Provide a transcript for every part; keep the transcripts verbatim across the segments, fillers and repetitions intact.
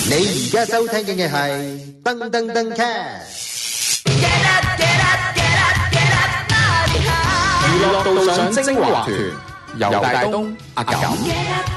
你而家收聽嘅係噔噔噔 cast， 娛樂道上精華團，由大東、阿感。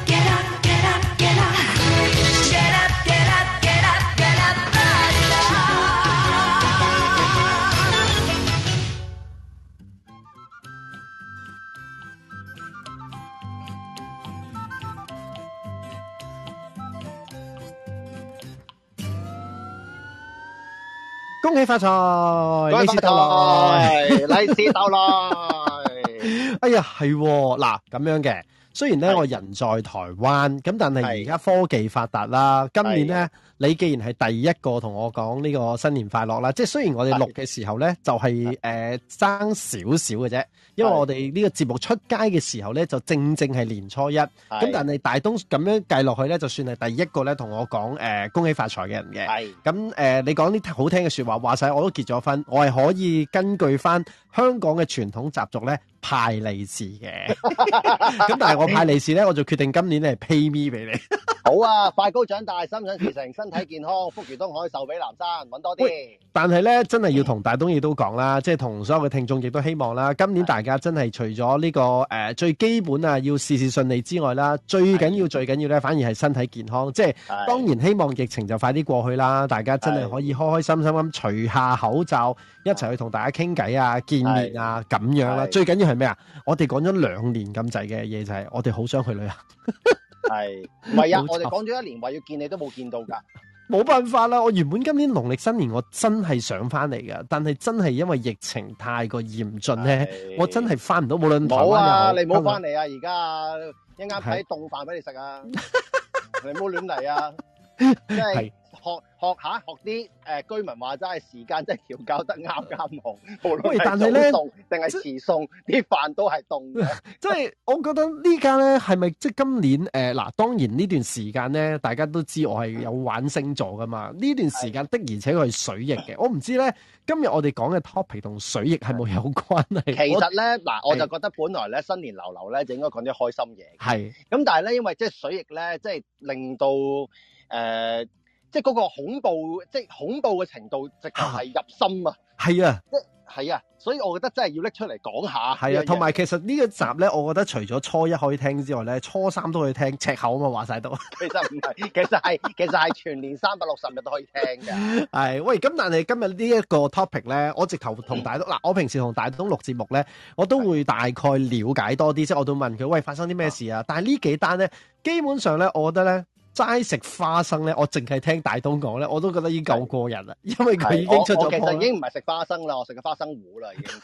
恭喜發財，利是逗來，利是逗來。哎呀，係嗱咁樣嘅。雖然咧我人在台灣，咁但係而家科技發達啦。今年咧，你既然係第一個同我講呢個新年快樂啦，即係雖然我哋錄嘅時候咧，就係誒爭少少嘅啫，因為我哋呢個節目出街嘅時候咧，就正正係年初一。咁但係大東咁樣計落去咧，就算係第一個咧同我講誒、呃、恭喜發財嘅人嘅。係咁誒，你講啲好聽嘅說話，話晒我都結咗婚，我係可以根據翻香港嘅傳統習俗咧派利是嘅。咁但係我派利是咧，我就決定今年咧係 pay me 俾你。 好啊，快高長大，心想事成，身體健康，福如東海，壽比南山，搵多啲。 但係咧，真係要同大東亦都講啦，即係同所有嘅聽眾亦都希望啦，今年大家真係除咗呢、這個誒、呃、最基本啊，要事事順利之外啦，最緊要最緊要咧，反而係身體健康。即係當然希望疫情就快啲過去啦，大家真係可以開開心心咁除下口罩，一齊去同大家傾偈啊、見面啊咁樣啦。最緊要係咩啊？我哋講咗兩年咁滯嘅嘢就係，我哋好想去旅行。 係，唔係啊？我哋講咗一年話要見你都冇見到噶， 冇辦法啦！我原本今年農曆新年我真係想翻嚟噶，但係真係因為疫情太過嚴峻咧，我真係翻唔到。無論台灣又好， 冇啊！你唔好翻嚟啊！而家一啱睇凍飯俾你食啊！你唔好亂嚟啊！即係。學學下學啲誒、呃、居民話齋，時間真係調校得啱啱好。無論係早送定係遲送，啲飯都係凍嘅。 即係我覺得呢家咧係咪即係今年誒嗱、呃？當然呢段時間咧，大家都知我係有玩星座噶嘛。呢段時間的而且確係水逆嘅。我唔知咧，今日我哋講嘅 topic 同水逆係冇有，有關係？ 其實咧嗱，我就覺得本來咧新年流流咧就應該講啲開心嘢。係咁，但係咧因為即係水逆咧，即係令到誒。呃即係嗰個恐怖，即係恐怖嘅程度，直頭係入心啊！ 係啊， 即係係啊，所以我覺得真係要拎出嚟講下。 係啊，同埋其實呢個集咧，我覺得除咗初一可以聽之外咧，初三都可以聽，赤口啊嘛，話晒都。 其實唔係，其實係其實係全年三百六十日都可以聽嘅。 係喂，咁但係今日呢一個 topic 咧，我直頭同大東嗱、嗯，我平時同大東錄節目咧，我都會大概了解多啲，即係我都問佢喂發生啲咩事啊？但係呢幾單咧，基本上咧，我覺得咧。齋食花生咧，我淨係聽大東講咧，我都覺得已經夠過癮啦，因為佢已經出咗。 其實已經唔係食花生啦，我食嘅花生糊啦，已經。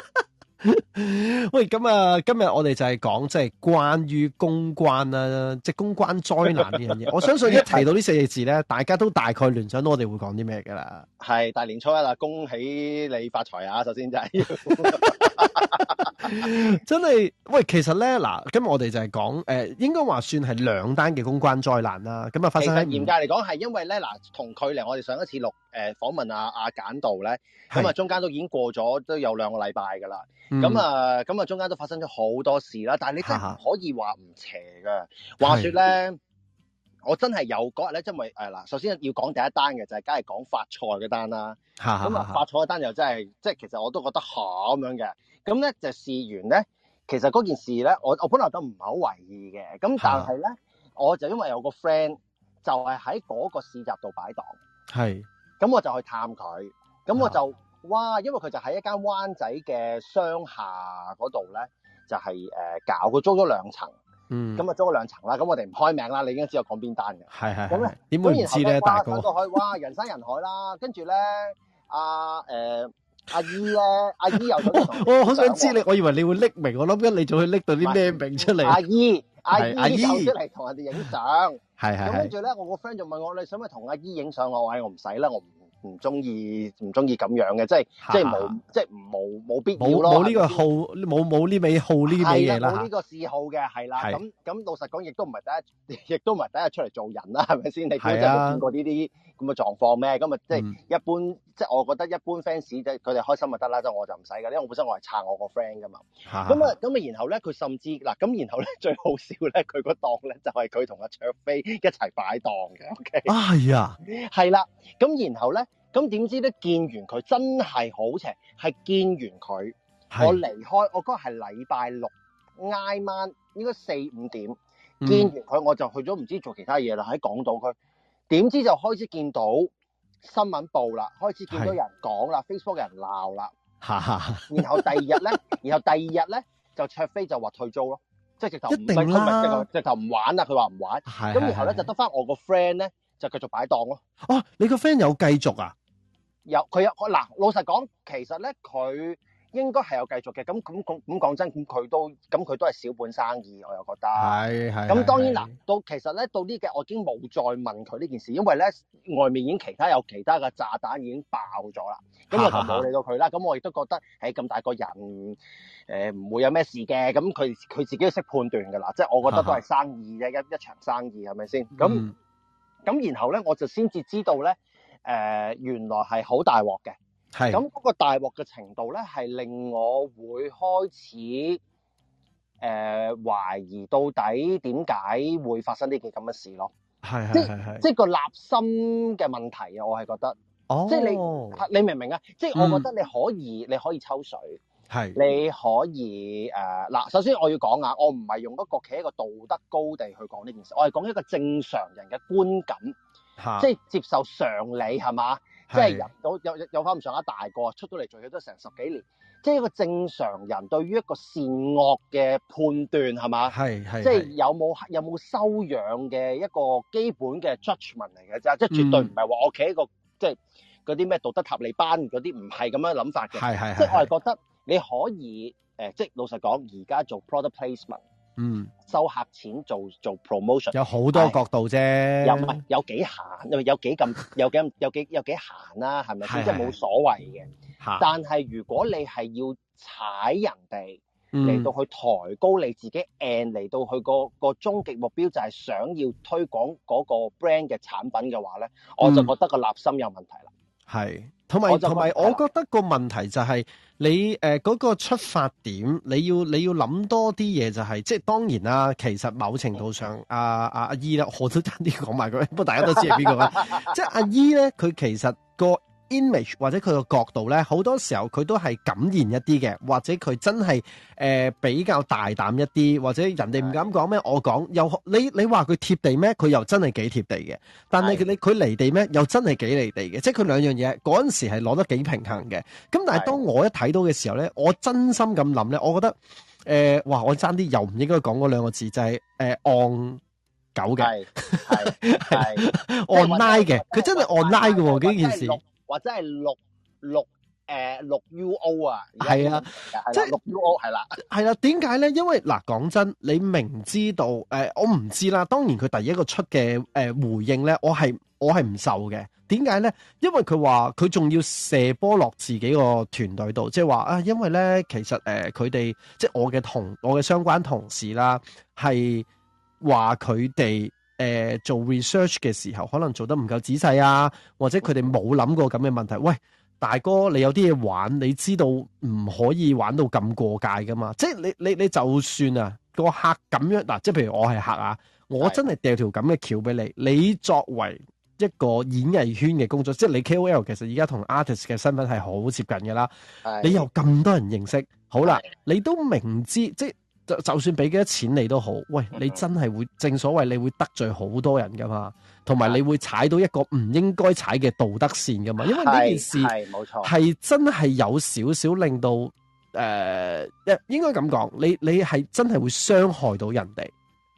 喂，咁啊，今日我哋就係講即係關於公關啦，即係公關災難呢樣嘢。我相信一提到呢四個字咧，大家都大概聯想到我哋會講啲咩噶啦。 係大年初一啦，恭喜你發財啊！首先就係。 真係喂，其實咧嗱，今日我哋就係講誒，應該話算係兩單嘅公關災難啦。咁啊，發生喺嚴格嚟講係因為咧嗱，同距離我哋上一次錄誒訪問阿阿簡道咧，咁啊中間都已經過咗都有兩個禮拜噶啦。咁啊咁啊中間都發生咗好多事啦，但係你真係唔可以話唔邪噶。話說咧，我真係有嗰日咧，因為誒嗱，首先要講第一單嘅就係梗係講發菜嗰單啦。咁啊發菜嗰單又真係即係其實我都覺得嚇咁樣嘅。咁咧就事緣咧，其實嗰件事咧，我我本來都唔係好為意嘅，咁但係咧，我就因為有個 friend 就係喺嗰個市集度擺檔，係，咁我就去探佢，咁我就哇，因為佢就喺一間灣仔嘅商廈嗰度咧，就係、是、誒、呃、搞，佢租咗兩層，嗯，咁啊租咗兩層啦，咁我哋唔開名啦，你已經知我講邊單嘅，係係，咁咧點會唔知咧，大哥，到去哇人山人海啦，跟住咧阿誒。呃阿姨咧，阿姨又想同我好想知你，我以為你會匿名，我諗緊你仲去拎到啲咩名出嚟。 阿姨，阿姨又出嚟同人哋影相， 係係。 咁跟住咧，我個 friend 就問我，你想唔想同阿姨影相？我話我唔使啦，我唔唔中意唔中意咁樣嘅，即係即係冇即係冇冇必要咯。 冇冇呢個好，冇冇呢味好呢味嘢啦。 冇呢個嗜好嘅係啦。咁咁老實講，亦都唔係第一，亦都唔係第一日出嚟做人啦，係咪先？你都真係見過呢啲咁嘅狀況咩？咁啊，即係一般，嗯、即係我覺得一般 fans 即係佢哋開心就得啦，即係我就唔使㗎，因為我本身我係撐我個 friend 噶嘛。咁啊咁啊，然後咧佢甚至嗱咁，然後咧最好笑咧，佢個檔咧就係佢同阿卓飛一齊擺檔嘅。OK 啊係啊， 係啦。咁然後咧，咁點知咧見完佢真係好邪，係見完佢，我離開，我嗰日係禮拜六挨晚，應該四五點、嗯、見完佢，我就去咗唔知做其他嘢啦，喺港島區。點知就開始見到新聞報啦，開始見到有人講啦 ，Facebook 有人鬧啦。然後第二日咧，然後第二日咧就卓飛就話退租咯，即係直頭唔係佢咪直頭直頭唔玩啦，佢話唔玩。咁然後咧就得翻我個 friend 咧就繼續擺檔咯。 哦，你個 friend 有繼續啊？ 有，佢有嗱，老實講，其實咧佢應該係有繼續嘅。咁咁咁咁講真，咁佢都咁佢都係小本生意，我又覺得。係係。咁當然嗱，到其實咧到呢嘅，我已經冇再問佢呢件事，因為咧外面已經其他有其他嘅炸彈已經爆咗啦。咁我就冇理到佢啦。咁我亦都覺得，喺咁大個人，誒、呃、唔會有咩事嘅。咁佢佢自己都識判斷㗎啦。即係我覺得都係生意啫，一一場生意係咪先？咁咁、嗯、然後咧，我就先至知道咧。誒、呃、原來係好大鑊嘅，係咁嗰個大鑊嘅程度咧，係令我會開始誒、呃、懷疑到底點解會發生呢件咁嘅事咯。係係係係，即係個立心嘅問題啊！我係覺得，哦、即係你你明唔明啊？即係我覺得你可以、嗯、你可以抽水，係你可以誒嗱、呃。首先我要講啊，我唔係用一個企喺一個道德高地去講呢件事，我係講一個正常人嘅觀感。即係接受常理係嘛？即係人都有有有翻咁上下大個，出到嚟做嘢都成十幾年，即係一個正常人對於一個善惡嘅判斷係嘛？係係，即係有冇有冇修養嘅一個基本嘅 judgment 嚟嘅啫，即係絕對唔係話我企喺個即係嗰啲咩道德塔利班嗰啲，唔係咁樣諗法嘅。係係，即係我係覺得你可以誒、呃，即係老實講，而家做 product placement。嗯，收客錢做做 promotion 有好多角度啫，又唔係有幾閒，有有幾咁有幾有幾有幾閒啦，係咪先？即係冇所謂嘅。但係如果你係要踩人哋嚟到去抬高你自己 and 嚟到去個個終極目標就係想要推廣嗰個 brand 嘅產品嘅話咧、嗯，我就覺得個立心有問題啦。係，同埋同埋，我覺得個問題就係你誒嗰、呃嗰個出發點，你要你要諗多啲嘢、就係，就係即係當然啦。其實某程度上，阿阿阿姨啦，我都爭啲講埋佢，不過大家都知係邊個啦。即係阿姨咧，佢其實個 image 或者佢個角度咧，好多時候佢都係敢言一啲嘅，或者佢真係誒、呃、比較大膽一啲，或者人哋唔敢講咩，我講又你你話佢貼地咩？佢又真係幾貼地嘅。但係你佢離地咩？又真係幾離地嘅。即係佢兩樣嘢嗰陣時係攞得幾平衡嘅。咁但係當我一睇到嘅時候咧，我真心咁諗咧，我覺得誒、呃，哇！我爭啲又唔應該講嗰兩個字，就係誒戇狗嘅，係係 online 嘅，佢真係 online 嘅喎呢件事。或者係六六誒六 U O 啊，係啊，即係六 U O 係啦，係啦。點解咧？因為嗱，講真，你明知道誒、呃，我唔知啦。當然佢第一個出嘅誒、呃、回應咧，我係我係唔受嘅。點解咧？因為佢話佢仲要射波落自己個團隊度，即係話啊，因為咧其實誒佢哋即係我嘅同我嘅相關同事啦，係話佢哋。誒、呃、做 research 嘅時候，可能做得唔夠仔細啊，或者佢哋冇諗過咁嘅問題。喂，大哥，你有啲嘢玩，你知道唔可以玩到咁過界噶嘛？即係你你你就算啊個客咁樣嗱，即係譬如我係客啊，我真係掉條咁嘅橋俾你，你作為一個演藝圈嘅工作，即係你 K O L 其實而家同 artist 嘅身份係好接近噶啦，你有咁多人認識，好啦，你都明知即係。就就算俾幾多錢你都好，喂，你真係會正所謂你會得罪好多人噶嘛，同埋你會踩到一個唔應該踩嘅道德線噶嘛，因為呢件事係冇錯，係真係有少少令到誒、呃，應該咁講，你你係真係會傷害到人哋，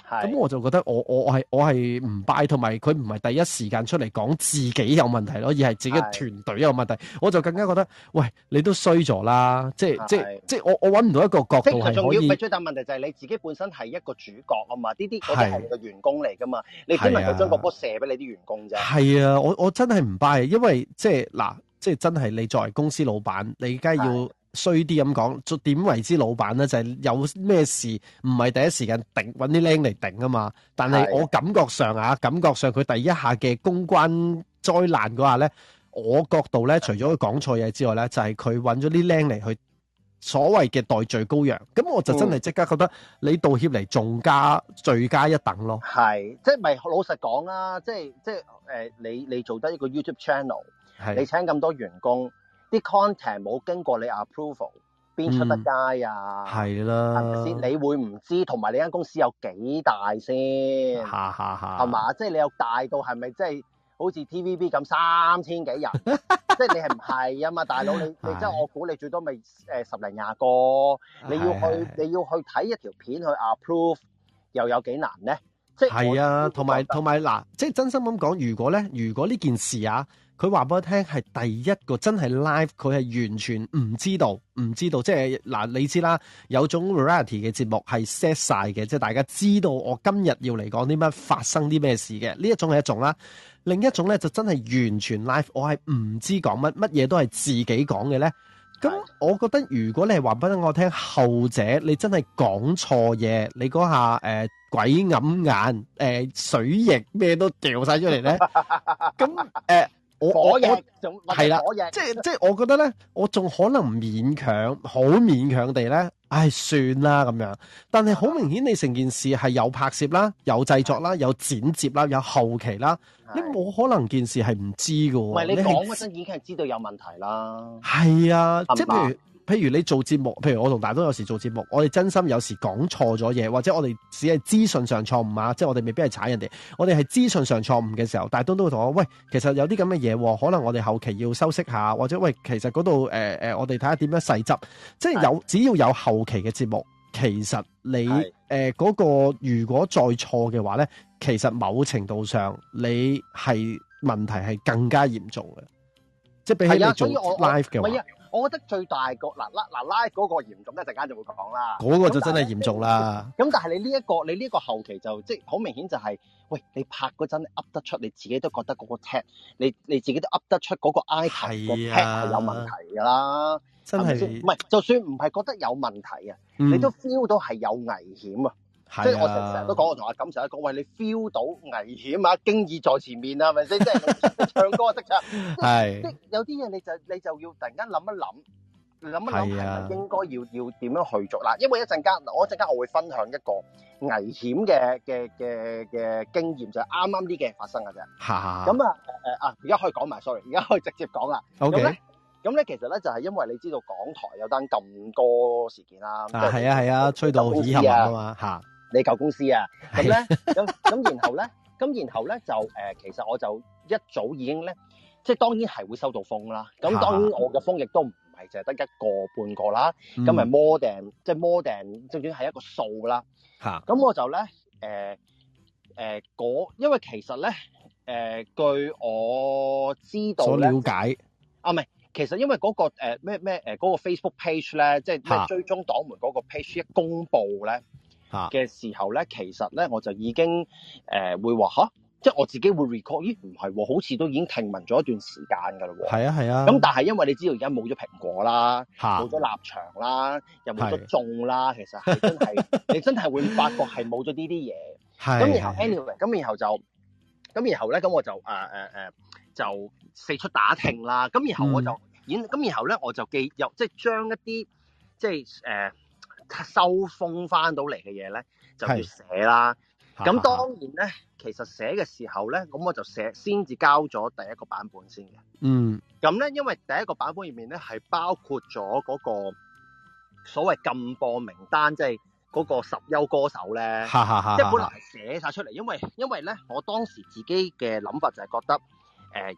咁我就覺得我我我係我係唔 buy，同埋佢唔係第一時間出嚟講自己有問題咯，而係自己團隊有問題，我就更加覺得，喂，你都衰咗啦，即係即係即係我我揾唔到一個角度係可以。 最大問題就係你自己本身係一個主角啊嘛，呢啲嗰啲係你嘅員工嚟噶嘛，你點能夠將個波射俾你啲員工啫？係啊，我我真係唔 buy，因為即係嗱，即係真係你作為公司老闆，你梗係要。衰啲咁講，點為之老闆咧？就係、是、有咩事唔係第一時間頂揾啲僆嚟頂啊嘛。但係我感覺上啊，感覺上佢第一下嘅公關災難嗰下咧，我角度咧，除咗佢講錯嘢之外咧，就係佢揾咗啲僆嚟去所謂嘅代罪羔羊。咁我就真係即刻覺得你道歉嚟仲加罪加一等咯。 係，即係咪老實講啦？即係即係誒、呃，你你做得一個 YouTube channel， 你請咁多員工。啲 content 冇經過你 approval， 邊出得街啊？係、嗯、啦，係咪先？你會唔知？同埋你間公司有幾大先？ 哈哈哈， 係嘛？即係你有大到係咪即係好似 T V B 咁三千幾人？即係你係唔係啊嘛？大佬你你即係我估你最多咪誒十零廿個，你要去你要去睇一條片去 approve， 又有幾難咧？即係係啊，同埋同埋嗱，即係真心咁講，如果咧，如果呢件事啊。佢話俾我聽係第一個真係 live，佢係完全唔知道，唔知道即係嗱，你知啦，有種 variety 嘅節目係 set 晒嘅，即係大家知道我今日要嚟講啲乜，發生啲咩事嘅，呢一種係一種啦。另一種咧就真係完全 live，我係唔知講乜，乜嘢都係自己講嘅咧。咁我覺得如果你係話俾我聽後者，你真係講錯嘢，你嗰下誒、呃、鬼揞眼，誒、呃、水液咩都掉晒出嚟咧，咁誒。呃我我係啦，即係即係，我覺得咧，我仲可能勉強，好勉強地咧，唉，算啦咁樣。但係好明顯，你成件事係有拍攝啦，有製作啦，有剪接啦，有後期啦，你冇可能件事係唔知噶。唔係你講嗰陣已經係知道有問題啦。係啊，即係譬如。譬如你做節目，譬如我同大東有時做節目，我哋真心有時講錯咗嘢，或者我哋只係資訊上錯誤啊，即係我哋未必係踩人哋，我哋係資訊上錯誤嘅時候，大東都會同我喂，其實有啲咁嘅嘢，可能我哋後期要修飾下，或者喂，其實嗰度誒誒，我哋睇下點樣細執，即係有只要有後期嘅節目，其實你誒嗰、呃嗰個如果再錯嘅話咧，其實某程度上你係問題係更加嚴重嘅，即係比起你做 live 嘅話。 我覺得最大個嗱嗱嗱 live 嗰個嚴重，一陣間就會講啦。 嗰、嗰個就真係嚴重啦。 咁但係你呢、呢、一個你呢個後期就即係好明顯就係、是，喂，你拍嗰陣噏得出，你自己都覺得嗰個 tag， 你你自己都噏得出嗰個 item 個 tag 係有問題㗎啦。真係唔係，就算唔係覺得有問題啊、嗯，你都 feel 到係有危險啊。即係我成成日都講，我同阿錦成日講，喂，你 feel 到危險啊，經已在前面啊，係咪先？即係你唱歌識唱，係即係有啲嘢你就你就要突然間諗一諗，諗一諗係咪應該要要點樣去做嗱？因為一陣間我一陣間我會分享一個危險嘅嘅嘅嘅經驗，就係啱啱呢幾日發生嘅啫。嚇！咁啊誒啊！而家可以講埋 ，sorry，而家可以直接講啦。OK。咁咧，其實咧就係因為你知道港台有單咁多事件啦。啊，係啊，係啊，吹到耳鬢啊嘛嚇。你舊公司啊，咁咧，咁咁然後咧，咁然後咧就誒、呃，其實我就一早已經咧，即係當然係會收到風啦。咁當然我嘅風亦都唔係淨係得一個半個啦，咁咪 more than 即係 more than，正正係一個數啦。嚇！咁我就咧誒誒嗰，因為其實咧誒、呃、據我知道咧，所了解啊，唔係，其實因為嗰、嗰個誒咩咩誒嗰個 Facebook page 咧，即係咩追蹤黨門嗰個 page 一公佈咧嘅時候咧，其實咧我就已經誒、呃、會話吓，即係我自己會 record， 咦唔係喎，好似都已經聽聞咗一段時間㗎啦喎。係啊係啊。咁但係因為你知道而家冇咗蘋果啦，冇咗立場啦，又冇咗眾啦，其實係真係你真係會發覺係冇咗呢啲嘢。係。咁然後 anyway，咁然後就咁然後咧，咁我就誒誒誒就四出打聽啦。咁然後我就演，咁、嗯、然後咧我就記又即係將一啲即係誒。呃收風翻到嚟嘅嘢咧，就要寫啦。咁當然咧，其實寫嘅時候咧，咁我就寫先至交咗第一個版本先嘅。嗯。咁咧，因為第一個版本入面咧係包括咗嗰個所謂禁播名單，即係嗰個十優歌手咧。哈哈哈。即係本來係寫晒出嚟，因為因為咧，我當時自己嘅諗法就係覺得，誒、呃，咦，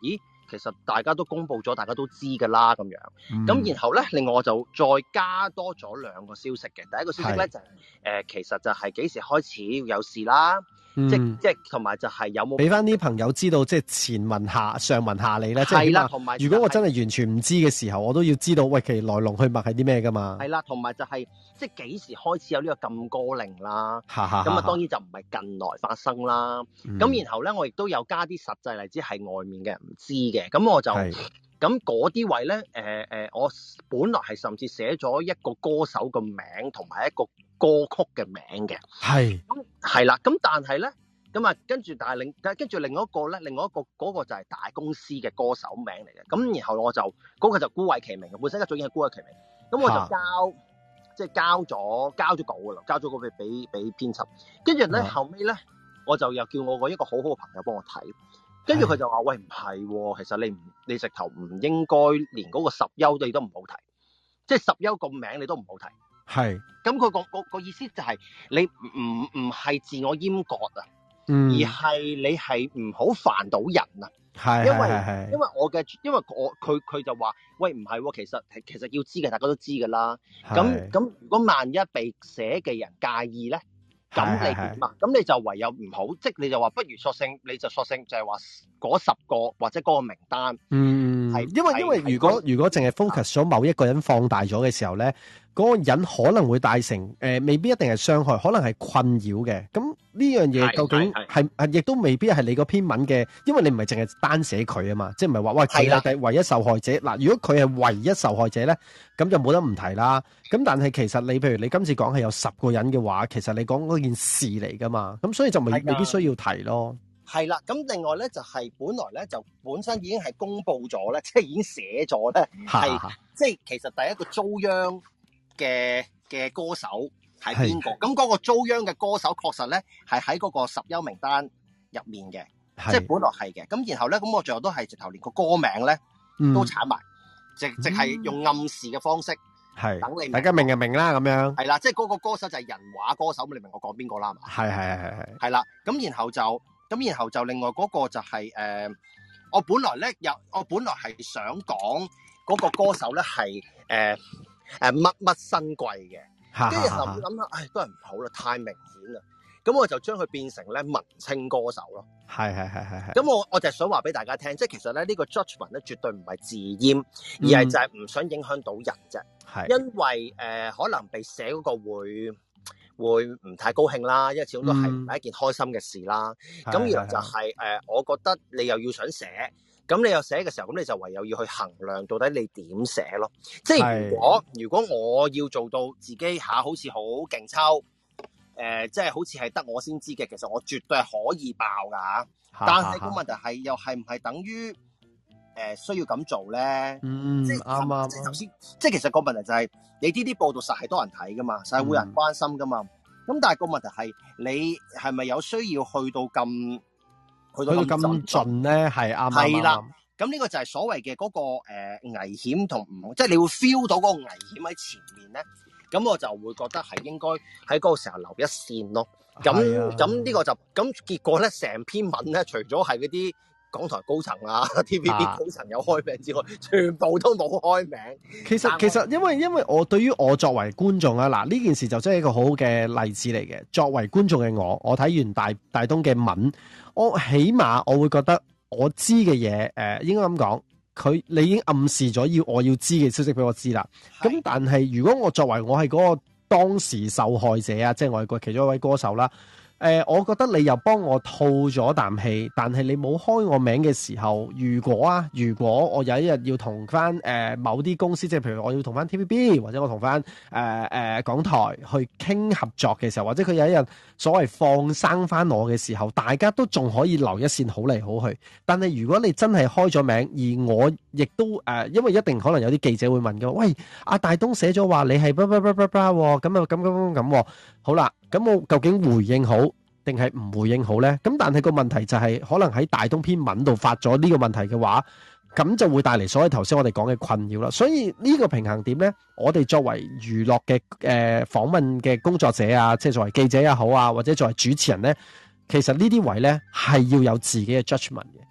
其實大家都公佈咗，大家都知㗎啦咁樣。咁、嗯、然後咧，另外我就再加多咗兩個消息嘅。第一個消息咧就係、是呃、其實就係幾時開始有事啦。嗯、即即同埋就係有冇俾翻啲朋友知道，即係前文下上文下理咧。 係啦，同埋如果我真係完全唔知嘅時候，我都要知道喂，其來龍去脈係啲咩噶嘛？ 係啦，同埋就係、是、即係幾時開始有呢個禁歌令啦？咁啊，當然就唔係近來發生啦。咁、嗯、然後咧，我亦都有加啲實際例子係外面嘅人唔知嘅。咁我就咁嗰啲位咧，誒、呃呃、我本來係甚至寫咗一個歌手嘅名同埋一個歌曲嘅名嘅。係。咁係啦，咁但係咧，咁啊跟住但係另跟住另外一個咧，另外一個嗰、嗰個就係大公司嘅歌手名嚟嘅。咁然後我就嗰、嗰個就孤偉其名嘅，本身一早已經係孤偉其名。咁我就交即係交咗交咗稿噶啦，交咗稿俾俾俾編輯。跟住咧後尾咧，我就又叫我個一個好好嘅朋友幫我睇。跟住佢就話：喂，唔係喎，其實你唔你直頭唔應該連嗰個十優你都唔好提，即係十優個名你都唔好提。係。咁佢個個個意思就係你唔唔係自我閹割啊，嗯、而係你係唔好煩到人啊。係。因為因為我嘅因為我佢佢就話：喂，唔係喎，其實其實要知嘅，大家都知㗎啦。咁咁如果萬一被寫嘅人介意咧？咁你點啊？咁你就唯有唔好，即係你就話不如索性，你就索性就係話嗰十個或者嗰個名單。嗯，係因為因為如果如果淨係 focus 咗某一個人放大咗嘅時候咧，嗰、嗰個人可能會帶成誒、呃，未必一定係傷害，可能係困擾嘅。咁呢樣嘢究竟係係亦都未必係你個篇文嘅，因為你唔係淨係單寫佢啊嘛，即係唔係話喂佢係第唯一受害者嗱。如果佢係唯一受害者咧，咁就冇得唔提啦。咁但係其實你譬如你今次講係有十個人嘅話，其實你講嗰件事嚟噶嘛，咁所以就未未必需要提咯。係啦，咁另外咧就係、是、本來咧就本身已經係公佈咗咧，即係已經寫咗咧，係即係其實第一個遭殃嘅嘅歌手係邊個？咁嗰個遭殃嘅歌手確實咧係喺嗰個十優名單入面嘅，即係本來係嘅。咁然後咧，咁我最後都係直頭連個歌名咧、嗯、都鏟埋，直直係用暗示嘅方式，係等你大家明就明啦咁樣。係啦，即係嗰個歌手就係人話歌手，咁你明我講邊個啦嘛？係係係係係。係啦，咁然後就咁然後就另外嗰個就係、是、誒、呃，我本來咧有我本來係想講嗰個歌手咧係誒。誒，乜乜新貴嘅，跟住就諗下，唉，都係唔好啦，太明顯啦。咁我就將佢變成咧文青歌手咯。係係係係係。咁我我就係想話俾大家聽，即係其實咧呢、這個 judgment 咧絕對唔係自閹，而係就係唔想影響到人啫。係、嗯，因為誒、呃、可能被寫嗰個會會唔太高興啦，因為始終都係唔係一件開心嘅事啦。咁、嗯、然後就係、是、誒、呃，我覺得你又要想寫。咁你又寫嘅時候，咁你就唯有要去衡量到底你點寫咯。即係如果如果我要做到自己下好似好勁抽，誒、呃，即係好似係得我先知嘅，其實我絕對係可以爆噶。但係個問題係又係唔係等於誒、呃、需要咁做咧？嗯，啱啱。即係頭先，即係其實個問題就係、是、你呢啲報道實係多人睇噶嘛，實係會有人關心噶嘛。咁、嗯、但係個問題係你係咪有需要去到咁？去到咁盡咧，係啱啱。係啦，咁呢個就係所謂嘅嗰個誒、呃、危險同唔，即係你會 feel 到嗰個危險喺前面咧。咁我就會覺得係應該喺嗰個時候留一線咯。咁咁呢個就咁結果咧，成篇文咧，除咗係嗰啲港台高層啊、T V B 高層有開名之外，全部都冇開名。其實其實因為因為我對於我作為觀眾啊，嗱呢件事就真係一個好好嘅例子嚟嘅。作為觀眾嘅我，我睇完大大東嘅文。我起碼我會覺得我知嘅嘢，誒、呃，應該咁講，佢你已經暗示咗要我要知嘅消息俾我知啦。咁但係如果我作為我係嗰個當時受害者啊，即係我係個其中一位歌手啦。誒、呃，我覺得你又幫我吐咗啖氣，但係你冇開我名嘅時候，如果啊，如果我有一日要同翻誒某啲公司，即係譬如我要同翻 T V B 或者我同翻誒誒港台去傾合作嘅時候，或者佢有一日所謂放生翻我嘅時候，大家都仲可以留一線好嚟好去。但係如果你真係開咗名，而我亦都誒、呃，因為一定可能有啲記者會問嘅，喂，阿大東寫咗話你係叭叭叭叭叭，咁啊咁咁咁咁，好啦。咁我究竟回應好定係唔回應好呢？咁但係個問題就係、是，可能喺大東篇文度發咗呢個問題嘅話，咁就會帶嚟所謂頭先我哋講嘅困擾啦。所以呢個平衡點呢，我哋作為娛樂嘅誒訪問嘅工作者啊，即係作為記者也好啊，或者作為主持人呢，其實呢啲位呢係要有自己嘅 judgment 嘅。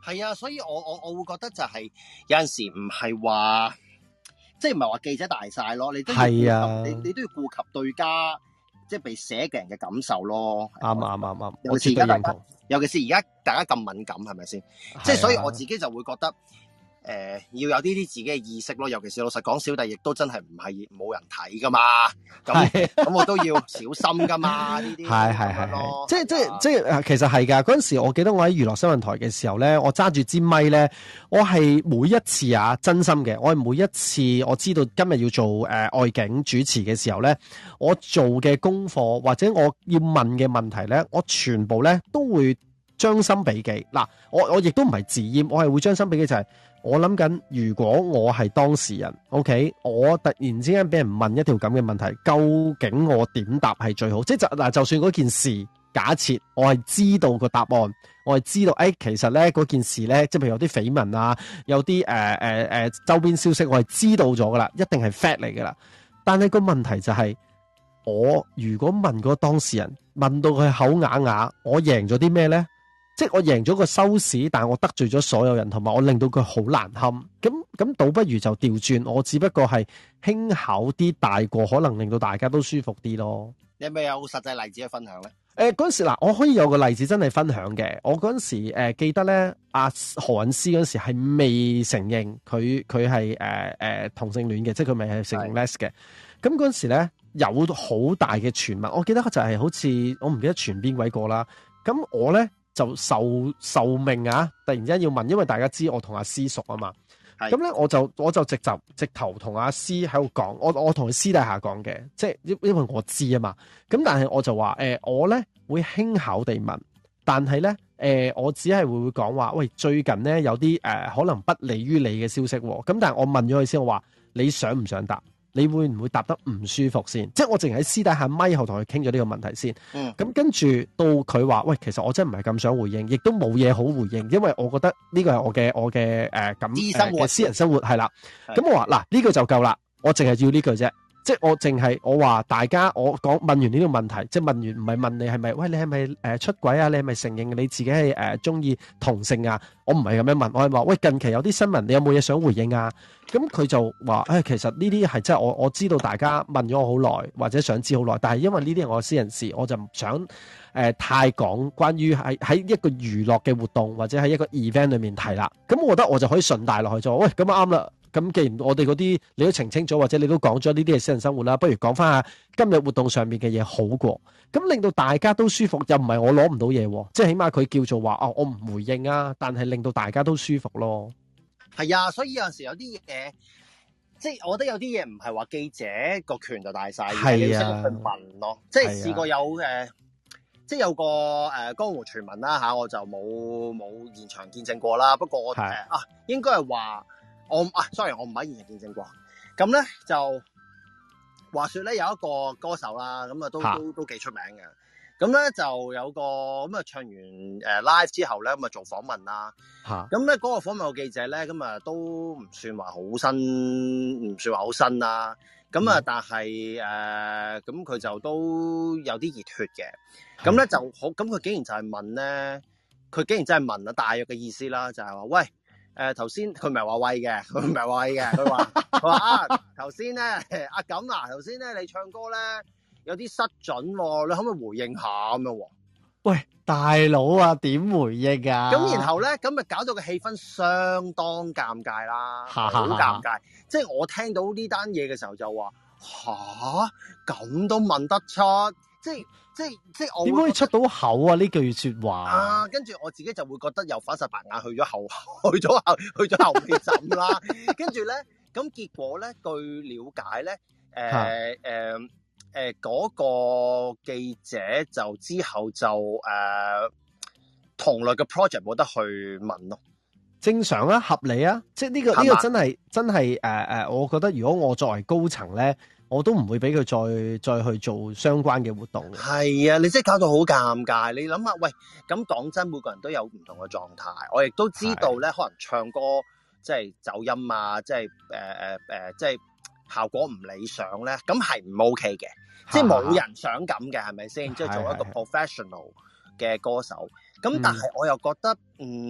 係啊，所以我我我會覺得就係、是、有陣時唔係話，即係唔係話記者大晒咯，你都要顧及、啊、你你都要顧及對家，即係被寫嘅人嘅感受咯。啱啱啱啱，尤其是而家大家，尤其是而家大家咁敏感，係咪先？即係、啊、所以我自己就會覺得。誒、呃，要有呢啲自己嘅意識咯，尤其是老實講，小弟亦都真係唔係冇人睇噶嘛，咁咁我都要小心噶嘛，呢啲係係係係，即係即係即係，其實係噶。嗰陣時，我記得我喺娛樂新聞台嘅時候咧，我揸住支咪咧，我係每一次啊，真心嘅，我係每一次我知道今日要做誒、呃、外景主持嘅時候咧，我做嘅功課或者我要問嘅問題咧，我全部咧都會將心比己。嗱，我我亦都唔係自厭，我係會將心比己，就係、是。我諗緊，如果我係當事人 ，OK，我突然之間俾人問一條咁嘅問題，究竟我點答係最好？即係就嗱，就算嗰件事，假設我係知道個答案，我係知道，誒、哎，其實咧嗰件事咧，即係譬如有啲緋聞啊，有啲誒誒誒周邊消息，我係知道咗噶啦，一定係 fact 嚟噶啦。但係個問題就係、是，我如果問嗰個當事人，問到佢口啞啞，我贏咗啲咩咧？即係我贏咗個收視，但係我得罪咗所有人，同埋我令到佢好難堪。咁咁倒不如就調轉，我只不過係輕巧啲大過，可能令到大家都舒服啲咯。你係咪有實際例子去分享咧？誒、呃，嗰陣時嗱，我可以有個例子真係分享嘅。我嗰陣時誒、呃、記得咧，阿何韻詩嗰陣時係未承認佢佢係誒誒同性戀嘅，即係佢未係承認 les 嘅。咁嗰陣時咧有好大嘅傳聞，我記得就係好似我唔記得傳邊位個啦。咁我咧。就受受命啊！突然之間要問，因為大家知我同阿師熟啊嘛。咁咧，我就我就直就直頭同阿師喺度講，我我同佢私底下講嘅，即係因因為我知啊嘛。咁但係我就話誒、呃，我咧會輕巧地問，但係咧誒，我只係會會講話，喂，最近咧有啲誒、呃、可能不利於你嘅消息喎。咁但係我問咗佢先，我話你想唔想答？你會唔會答得唔舒服先？即係我淨係喺私底下咪後同佢傾咗呢個問題先。嗯。咁跟住到佢話，喂，其實我真係唔係咁想回應，亦都冇嘢好回應，因為我覺得呢個係我嘅我嘅誒咁嘅私人生活係啦。咁我話嗱，呢句就夠啦，我淨係要呢句啫。即係我淨係我話大家，我講問完呢個問題，即係問完唔係問你係咪？喂，你係咪誒出軌啊？你係咪承認你自己係誒中意同性啊？我唔係咁樣問，我係話喂，近期有啲新聞，你有冇嘢想回應啊？咁佢就話誒、哎，其實呢啲係真係我我知道大家問咗我好耐，或者想知好耐，但係因為呢啲係我私人事，我就唔想誒、呃、太講關於喺喺一個娛樂嘅活動或者喺一個 event 裏面提啦。咁我覺得我就可以順帶落去就話喂，咁啱啦。咁既然我哋嗰啲你都澄清咗，或者你都講咗呢啲係私人生活啦，不如講翻下今日活動上面嘅嘢好過，咁令到大家都舒服，又唔係我攞唔到嘢，即係起碼佢叫做話哦，我唔回應啊，但係令到大家都舒服咯。係啊，所以有陣時有啲嘢，即係我覺得有啲嘢唔係話記者個權就大晒，係啊，你要識去問咯。即係試過有誒、呃，即係有個誒、呃、江湖傳聞啦嚇，我就冇冇現場見證過啦。不過我誒、呃、啊，應該係話。我啊，sorry，我唔喺現場見證過。咁咧就話說咧，有一個歌手啦，咁啊都都都幾出名嘅。咁咧就有個咁啊唱完誒 live 之後咧，咁啊做訪問啦。嚇！咁咧嗰個訪問嘅記者咧，咁啊都唔算話好新，唔算話好新啦。咁啊，但係誒，咁佢就都有啲熱血嘅。咁咧就好，咁佢竟然就係問咧，佢竟然真係問啊，大約嘅意思啦，就係話喂。誒，頭先佢唔係話喂嘅，佢唔係話喂嘅，佢話佢話啊，頭先咧阿錦啊，頭先咧你唱歌咧有啲失準，你可唔可以回應下咁樣？喂，大佬啊，點回應啊？咁然後咧，咁咪搞到個氣氛相當尷尬啦，好尷尬。即係我聽到呢單嘢嘅時候就話吓，咁都問得出，即係。即係即係我點可以出到口啊？呢句說話啊，跟住我自己就會覺得又反晒白眼，去咗後去咗後去咗後面枕啦。跟住咧，咁結果咧，據了解咧，誒誒誒嗰個記者就之後就誒、呃、同類嘅 project 冇得去問咯。正常啊，合理啊，即係呢、這個呢、這個真係真係誒誒，我覺得如果我作為高層咧。我都唔會俾佢再再去做相關嘅活動。係啊，你即係搞到好尷尬。你諗下，喂，咁講真，每個人都有唔同嘅狀態。我亦都知道咧，可能唱歌即係走音啊，即係誒誒誒，即係效果唔理想咧，咁係唔 OK 嘅。即係冇人想咁嘅，係咪先？即係做一個 professional 嘅歌手。咁但係我又覺得，嗯。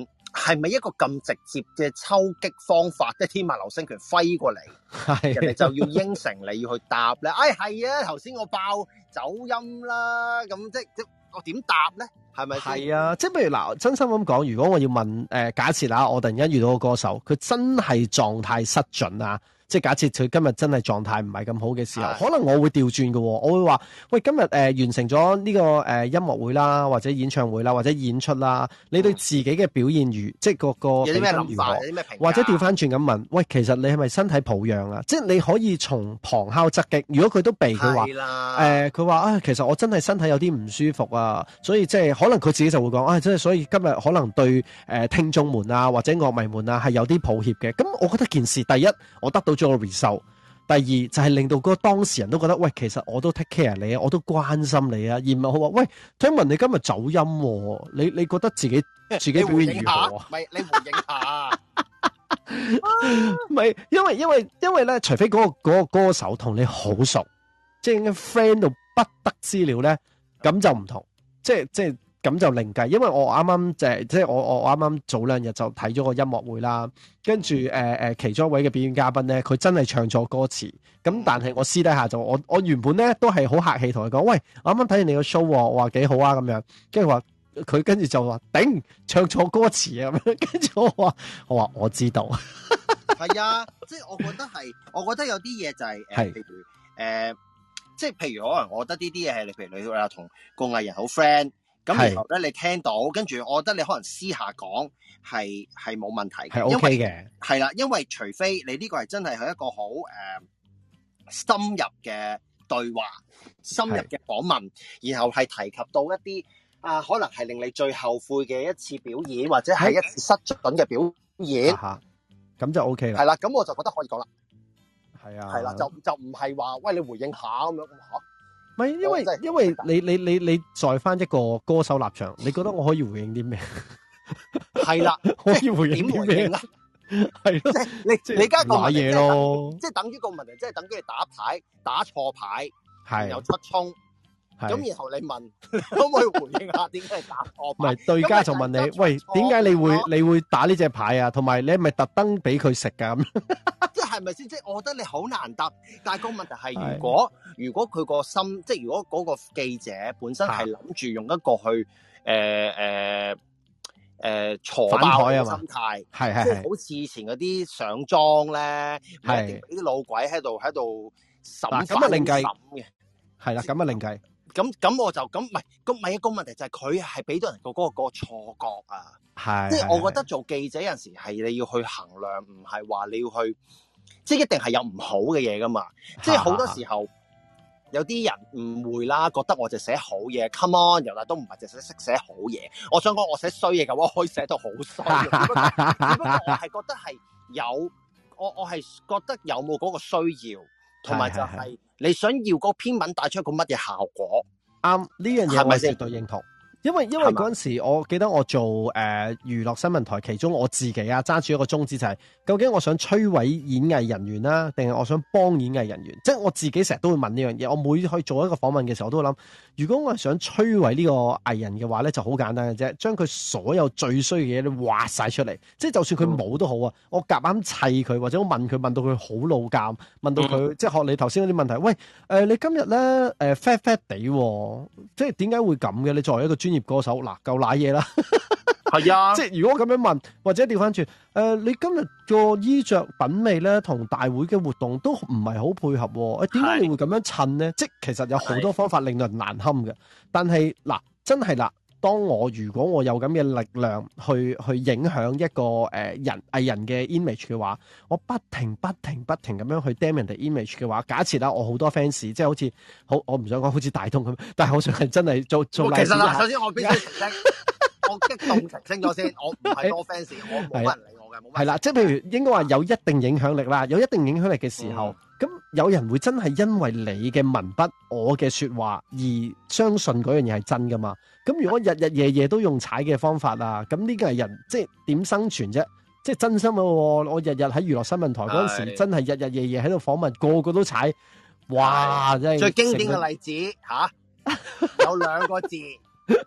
係咪一個咁直接嘅抽擊方法？即係天馬流星拳揮過嚟，人哋就要應承你要去答咧？哎，係啊，頭先我爆走音啦，咁即即我點答咧？係咪？係啊，即係譬如嗱，真心咁講，如果我要問誒、呃，假設啦，我突然間遇到個歌手，佢真係狀態失準啊！即係假設佢今日真係狀態唔係咁好嘅時候，可能我會調轉嘅喎，我會話：喂，今日誒、呃、完成咗呢、這個誒、呃、音樂會啦，或者演唱會啦，或者演出啦，你對自己嘅表現如、嗯、即係個個有啲咩諗法？有啲咩評價？ 或者調翻轉咁問：喂，其實你係咪身體抱恙啊？即係你可以從旁敲側擊。如果佢都避，佢話誒，佢話啊，其實我真係身體有啲唔舒服啊，所以即係可能佢自己就會講啊，即係所以今日可能對誒、呃、聽眾們啊或者樂迷們啊係有啲抱歉嘅。咁我覺得件事第一，我得到咗個 result。第二就係、是、令到嗰個當事人都覺得，喂，其實我都 take care 你啊，我都關心你啊，而唔係好話，喂，聽聞你今日走音、啊，你你覺得自己自己表現如何啊？ 唔係，你回應下， 唔係，因為因為因為咧，除非嗰、那個嗰、那個歌手同你好熟，即係應該 friend 到不得之了咧，咁就唔同，即係即係。咁就另計，因為我啱啱就係即係我我啱啱早兩日就睇咗個音樂會啦，跟住誒誒其中一位嘅表演嘉賓咧，佢真係唱錯歌詞，咁但係我私底下就我我原本咧都係好客氣同佢講，喂，我啱啱睇完你個 show，我話幾好啊咁樣，跟住話佢跟住就話頂唱錯歌詞啊咁樣，跟住我話我話我知道， 係啊，即係我覺得係，我覺得有啲嘢就係、是、誒、呃，譬如誒、呃，即係譬如可能我覺得呢啲嘢係你譬如你話同個藝人好 friend。咁然後咧，你聽到，跟住我覺得你可能私下講係係冇問題嘅， 係 OK 嘅， 係啦，因為除非你呢個係真係係一個好誒、呃、深入嘅對話、深入嘅訪問，然後係提及到一啲啊、呃，可能係令你最後悔嘅一次表演，或者係一次失準嘅表演，咁、 啊、就 OK 啦。 係啦，咁我就覺得可以講啦。 係啊， 係啦，就就唔係話喂你回應下咁樣嚇。 唔係，因為因為你你你你在翻一個歌手立場，你覺得我可以回應啲咩？係啦，可以回應啲咩？係咯，即係你你而家個問題咯， 即係等於個問題，即係等於你打牌打錯牌，係又出衝，咁然後你問可唔可以回應下點解打錯牌？唔係對家就問你，喂，點解你會你會打呢隻牌啊？同埋你係咪特登俾佢食噶咁？即係咪先？即係我覺得你好難答，但係個問題係，如果如果佢個心，即係如果嗰個記者本身係諗住用一個去誒誒誒挫爆嘅心態，係係即係好似以前嗰啲上莊咧，係啲老鬼喺度喺度審咁啊另計嘅，係啦，咁啊另計。咁咁我就咁唔係，咁咪一個問題就係佢係俾到人個嗰個嗰個錯覺啊，係即係我覺得做記者有陣時係你要去衡量，唔係話你要去。即係一定係有唔好嘅嘢噶嘛，即係好多時候有啲人誤會啦，覺得我就寫好嘢 ，come on，由來都唔係淨係識寫好嘢。我想講我寫衰嘢嘅話，我可以寫到好衰。只不過我係覺得係有，我我係覺得有冇嗰個需要，同埋就係你想要嗰篇文帶出一個乜嘢效果。啱，呢樣嘢我絕對認同。因為因為嗰陣時，我記得我做誒、呃、娛樂新聞台，其中我自己啊揸住一個宗旨就係、是，究竟我想摧毀演藝人員啦，定係我想幫演藝人員？即係我自己成日都會問呢樣嘢。我每去做一個訪問嘅時候，我都會諗，如果我係想摧毀呢個藝人嘅話咧，就好簡單嘅啫，將佢所有最衰嘅嘢都挖晒出嚟。即係就算佢冇都好啊，我夾硬砌佢，或者我問佢問到佢好老尷，問到佢、嗯、即係學你頭先嗰啲問題。喂，誒、呃、你今日咧誒 fat fat 地，即係點解會咁嘅？你作為一個專業歌手嗱，夠瀨嘢啦，係啊！即係如果咁樣問，或者調翻轉，誒、呃，你今日個衣着品味咧，同大會嘅活動都唔係好配合，誒，點解你會咁樣襯咧？即係其實有好多方法令到人難堪嘅，但係嗱，真係啦，當我如果我有咁嘅力量去去影響一個誒、呃、人藝人嘅 image 嘅話，我不停不停不停咁樣去 damn 人哋 image 嘅話，假設啦，我好多 fans，即係好似好，我唔想講好似大東咁，但係我想係真係做做。其實啦，首先我必須澄清，我激動澄清咗先，我唔係多 fans，我冇乜人理我嘅，冇乜。係啦，即係譬如應該話有一定影響力啦，有一定影響力嘅時候，咁、嗯、有人會真係因為你嘅文筆、我嘅說話而相信嗰樣嘢係真噶嘛？咁如果日日夜夜都用踩嘅方法啊，咁呢個係人即係點生存啫？即係真心咯！我日日喺娛樂新聞台嗰陣時，真係日日夜夜喺度訪問，個個都踩，哇！真係最經典嘅例子吓、啊，有兩個字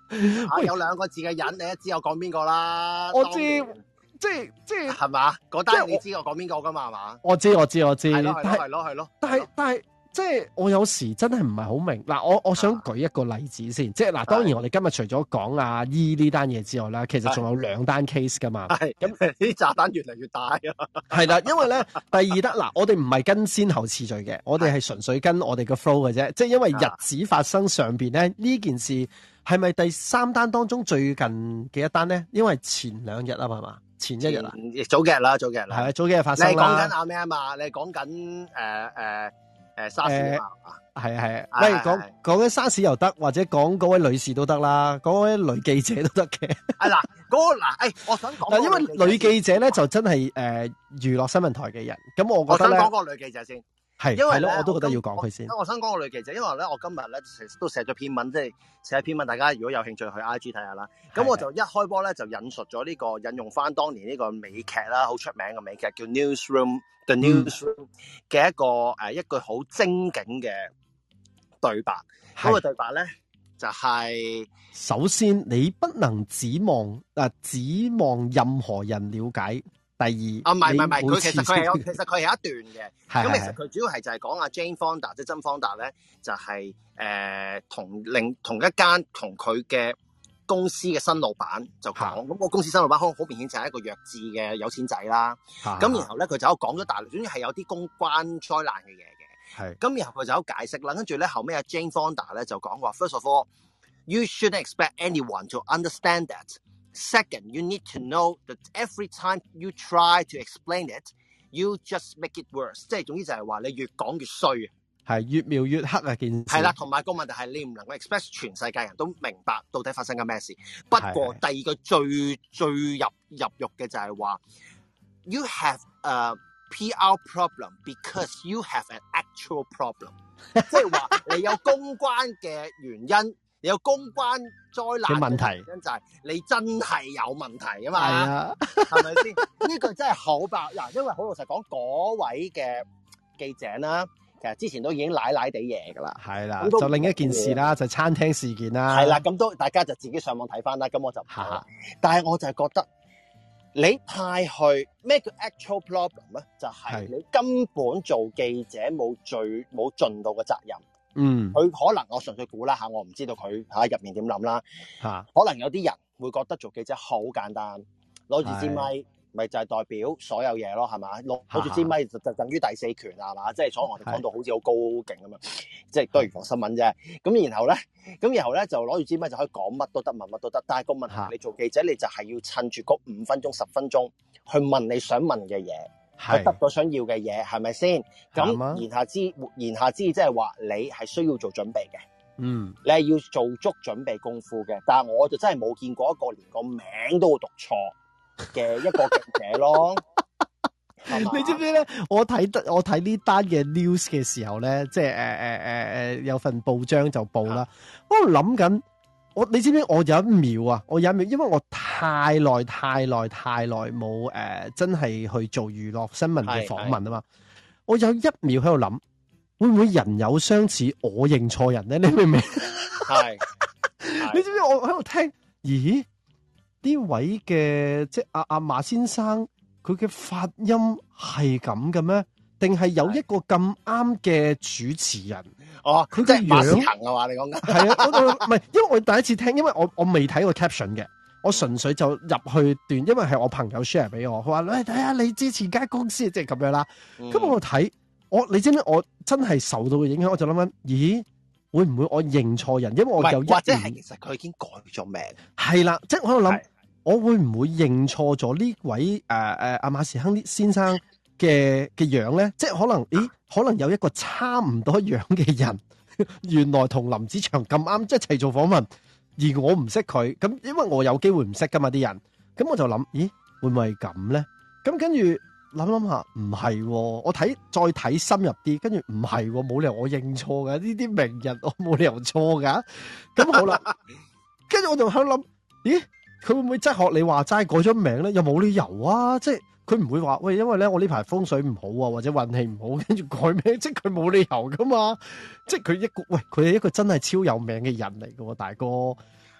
啊，有兩個字嘅人，你都知我講邊個啦。 我知，即係即係係嘛？嗰單你知我講邊個噶嘛？係嘛？ 我知我知我知。 係咯係咯係咯。 但係但係即係我有時真係唔係好明嗱，我我想舉一個例子先，即係嗱，當然我哋今日除咗講阿姨呢單嘢之外啦，其實仲有兩單 case 噶嘛。係咁，啲炸彈越嚟越大啊。係啦，因為咧第二單嗱，我哋唔係跟先後次序嘅，我哋係純粹跟我哋個 flow 嘅啫。即係因為日子發生上邊咧呢件事。係咪第三單當中最近嘅一單咧？因為前兩日啊嘛嘛，前一日啊， 早幾日啦，早幾日啦， 係啊，早幾日發生啦。 你講緊阿咩啊嘛？你講緊誒誒誒沙士啊嘛？係係啊，喂，講講緊沙士又得，或者講嗰位女士都得啦，嗰位女記者都得嘅。 啊嗱，嗰個嗱，誒，我想講， 因為女記者咧就真係誒娛樂新聞台嘅人，咁我覺得咧， 我想講個女記者先。 係，因為咧，我都覺得要講佢先。 我想講個女記者，因為咧，我今日咧都寫咗篇文，即係寫篇文，大家如果有興趣去 I G 睇下啦。咁我就一開波咧就引述咗呢、這個引用翻當年呢個美劇啦，好出名嘅美劇叫 Newsroom The Newsroom 嘅、嗯、一個誒一句好精警嘅對白。嗰、那個對白咧就係、是： 首先你不能指望啊指望任何人了解。第二啊， 唔係唔係唔係，佢其實佢係有，其實佢係有一段嘅。咁其實佢主要係就係講阿 Jane Fonda，即係真方達咧，就係、是、誒、呃、同另同一間同佢嘅公司嘅新老闆就講，咁、那個公司新老闆好好明顯就係一個弱智嘅有錢仔啦。咁然後咧佢就講咗大量，總之係有啲公關災難嘅嘢嘅。係。咁然後佢就有解釋啦，跟住咧後尾阿 Jane Fonda 咧就講話 ，First of all, you shouldn't expect anyone to understand that. Second, you need to know that every time you try to explain it, you just make it worse。即係總之就係話你越講越衰啊，係越描越黑啊件事。係啦，同埋個問題係你唔能夠 expect 全世界人都明白到底發生緊咩事。不過第二個最最入入肉嘅就係話 ，you have a P R problem because you have an actual problem。即係話你有公關嘅原因。有公關災難嘅問題，原因就係你真係有問題啊嘛，係咪先？呢句真係好爆嗱，因為好老實講，嗰位嘅記者啦，其實之前都已經奶奶地嘢噶啦，係啦，就另一件事啦，就餐廳事件啦，係啦，咁都大家就自己上網睇翻啦，咁我就唔講啦。但係我就係覺得你派去咩叫 actual problem 咧？就係、是、你根本做記者冇最冇盡到嘅責任。嗯，佢可能我純粹估啦吓，我唔知道佢吓入面點諗啦吓。可能有啲人會覺得做記者好簡單，攞住支咪，咪就係代表所有嘢咯，係嘛？攞攞住支咪就就等於第四權啊嘛，即係所以我哋講到好似好高勁咁嘛，即係都係預防新聞啫。咁然後咧，咁然後咧就攞住支咪就可以講乜都得，問乜都得。但係個問題，你做記者你就係要趁住嗰五分鐘、十分鐘去問你想問嘅嘢。佢得到想要嘅嘢係咪先？咁言下之言下之意即係話你係需要做準備嘅，嗯，你係要做足準備功夫嘅。但係我就真係冇見過一個連個名都會讀錯嘅一個記者咯。你知唔知咧？我睇得我睇呢單嘅 news 嘅時候咧，即係誒誒誒誒有份報章就報啦。我諗緊。我你知唔知我有一秒啊，我有一秒，因為我太耐太耐太耐冇誒，真係去做娛樂新聞嘅訪問啊嘛。我有一秒喺度諗，會唔會人有相似，我認錯人咧？你明唔明？係，你知唔知我喺度聽？咦？呢位嘅即係阿阿馬先生，佢嘅發音係咁嘅咩？定係有一個咁啱嘅主持人？哦，佢嘅樣行啊嘛，你講緊係啊，我唔係，因為我第一次聽，因為我我未睇過 caption 嘅，我純粹就入去段，因為係我朋友 share 俾我，佢話你睇下你之前間公司即係咁樣啦，咁、嗯、我睇我你知唔知我真係受到嘅影響，我就諗緊，咦會唔會我認錯人？因為我有一或者係其實佢已經改咗名，係啦，即係我喺度諗，我會唔會認錯咗呢位誒誒阿馬時亨先生嘅嘅樣咧？即係可能，咦？可能有一個差唔多樣嘅人，原來同林子祥咁啱，即係一齊做訪問，而我唔識佢，咁因為我有機會唔識噶嘛啲人，咁我就諗，咦，會唔會係咁咧？咁跟住諗諗下，唔係，我睇再睇深入啲，跟住唔係，冇理由我認錯噶，呢啲名人我冇理由錯噶，咁好啦，跟住我就喺度諗，咦，佢會唔會真係學你話齋改咗名咧？又冇理由啊，即係。佢唔會話喂，因為咧我呢排風水唔好啊，或者運氣唔好，跟住改名，即係佢冇理由噶嘛。即係佢一個喂，佢係一個真係超有名嘅人嚟噶喎，大哥。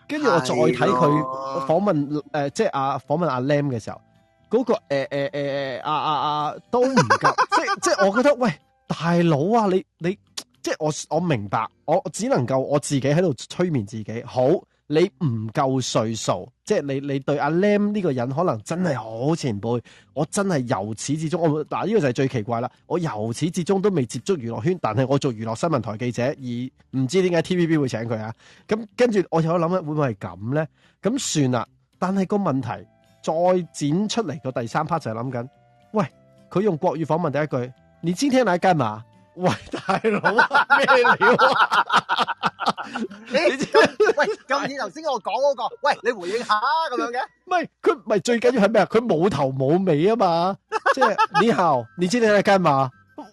跟住我再睇佢訪問誒、呃，即係阿訪問阿 Lam 嘅時候，嗰、那個誒誒誒誒阿阿阿都唔夠，即係即係我覺得喂大佬啊，你你即係我我明白，我只能夠我自己喺度催眠自己，好。你唔夠歲數，即係你你對阿 Lam 呢個人可能真係好前輩，我真係由始至終，我嗱呢個就係最奇怪啦。我由始至終都未接觸娛樂圈，但係我做娛樂新聞台記者，而唔知點解 T V B 會請佢啊？咁跟住我有諗咧，會唔會係咁咧？咁算啦。但係個問題再剪出嚟個第三 part 就係諗緊，喂，佢用國語訪問第一句，你今天來幹嘛？喂，大佬咩料啊？ 你喂，咁似頭先我講嗰個，喂，你回應下咁樣嘅？ 唔係佢，唔係最緊要係咩啊？佢冇頭冇尾啊嘛，即係你好，你知你喺間嘛？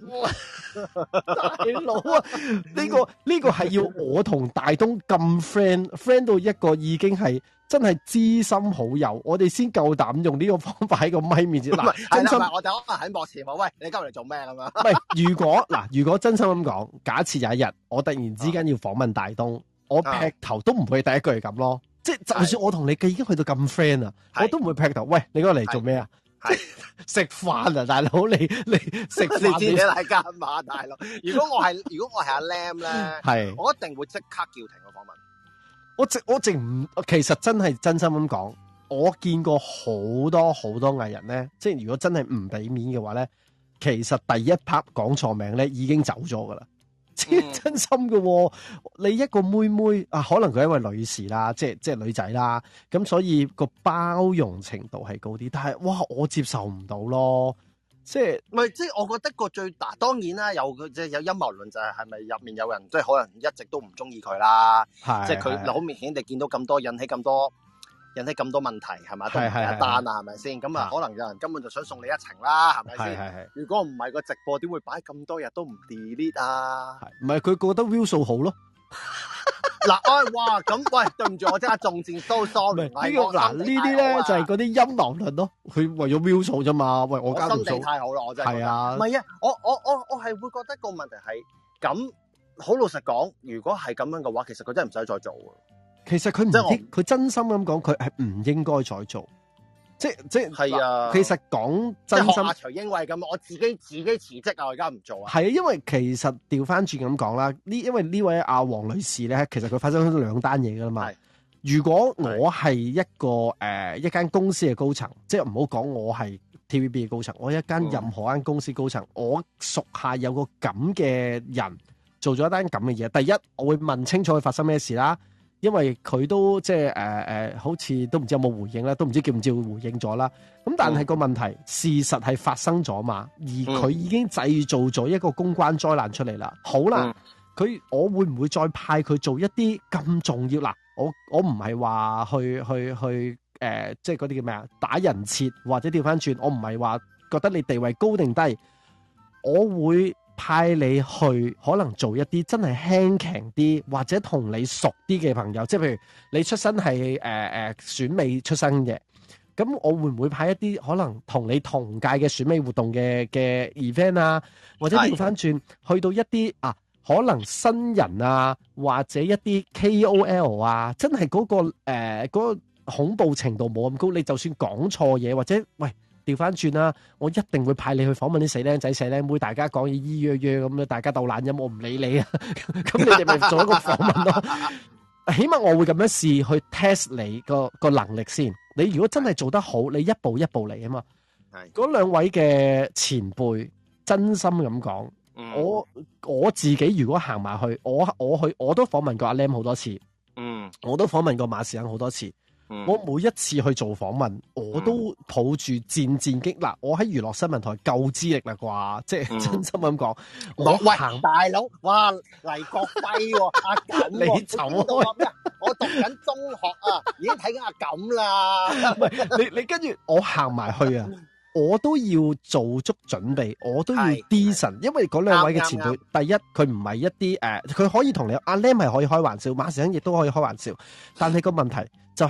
大佬啊，呢個呢個係要我同大東咁 friend，friend 到一個已經係真係知心好友，我哋先夠膽用呢個方法喺個咪面前。嗱，真心我就可能喺幕前話，喂，你今日嚟做咩咁樣？ 唔係，如果嗱，如果真心咁講，假設有一日我突然之間要訪問大東，啊、我劈頭都唔會第一句係咁咯。即係就算我同你嘅已經去到咁 friend 啊，我都唔會劈頭。喂，你嗰個嚟做咩啊？食飯啊，大佬，你你食飯你知你嚟幹嘛，大佬？如果我係如果我係阿 Lam 咧，係我一定會即刻叫停個訪問。 我直我直唔，其實真係真心咁講，我見過好多好多藝人咧，即係如果真係唔俾面嘅話咧，其實第一 part 講錯名咧已經走咗噶啦。即係真心嘅、哦，你一個妹妹啊，可能佢係一位女士啦，即係即係女仔啦，咁所以個包容程度係高啲，但係哇，我接受唔到咯，即係唔係即係我覺得個最大當然啦，有即係有陰謀論就係係咪入面有人即係可能一直都唔中意佢啦，即係佢好明顯地見到咁多引起咁多。引起咁多問題係咪？都唔係一單啊，係咪先？咁啊，可能有人根本就想送你一程啦，係咪先？係係。如果唔係個直播，點會擺咁多日都唔 delete 啊？ 唔係佢覺得 view 數好咯。 嗱，哎哇，咁喂，對唔住，我即刻中箭 ，so sorry。呢個嗱呢啲咧就係嗰啲陰謀論咯。佢為咗 view 數啫嘛。喂，我交條數。 心地太好啦，我真係。 係啊。 唔係啊，我我我我係會覺得個問題係咁。好老實講，如果係咁樣嘅話，其實佢真係唔使再做。 其實佢唔應，佢真心咁講，佢係唔應該再做。即即係啊。 其實講真心， 阿徐英偉咁，我自己自己辭職啊，我而家唔做啊。 係啊，因為其實調翻轉咁講啦，呢因為呢位阿黃女士咧，其實佢發生咗兩單嘢噶啦嘛。如果我係一個誒、呃、一間公司嘅高層，即係唔好講我係 T V B 嘅高層，我一間任何間公司高層，嗯、我屬下有個咁嘅人做咗一單咁嘅嘢，第一我會問清楚佢發生咩事啦。因為佢都即係誒誒，好似都唔知有冇回應啦，都唔知叫唔叫回應咗啦。咁但係個問題，嗯、事實係發生咗嘛，而佢已經製造咗一個公關災難出嚟啦。好啦，佢、嗯、我會唔會再派佢做一啲咁重要嗱？我我唔係話去去去誒、呃，即係嗰啲叫咩啊？打人設或者調翻轉，我唔係話覺得你地位高定低，我會。派你去可能做一啲真係輕強啲或者同你熟啲嘅朋友，即係譬如你出身係誒誒選美出身嘅，咁我會唔會派一啲可能同你同屆嘅選美活動嘅嘅 event 啊，或者調翻轉去到一啲啊可能新人啊或者一啲 K O L 啊，真係嗰個誒嗰個恐怖程度冇咁高，你就算講錯嘢或者喂。調翻轉啦，我一定會派你去訪問啲死僆仔、死僆妹，大家講嘢咿約約咁樣，大家鬥懶音，我唔理你啊。咁你哋咪做一個訪問咯。起碼我會咁樣試去 test 你個個能力先。你如果真係做得好，你一步一步嚟啊嘛。係嗰兩位嘅前輩，真心咁講，嗯，我我自己如果行埋去，我我去我都訪問過阿 Lam 好多次，嗯，我都訪問過馬時亨好多次。我每一次去做訪問，我都抱住戰戰兢嗱，我喺娛樂新聞台夠資歷啦啩，即係真心咁講。我行大佬，哇黎國輝喎，阿錦， 你走開咩？我讀緊中學啊，已經睇緊阿錦啦。 唔係你你跟住我行埋去啊，我都要做足準備，我都要 decent，因為嗰兩位嘅前輩，第一佢唔係一啲誒，佢可以同你阿 Lam 係可以開玩笑，馬時亨亦都可以開玩笑，但係個問題就係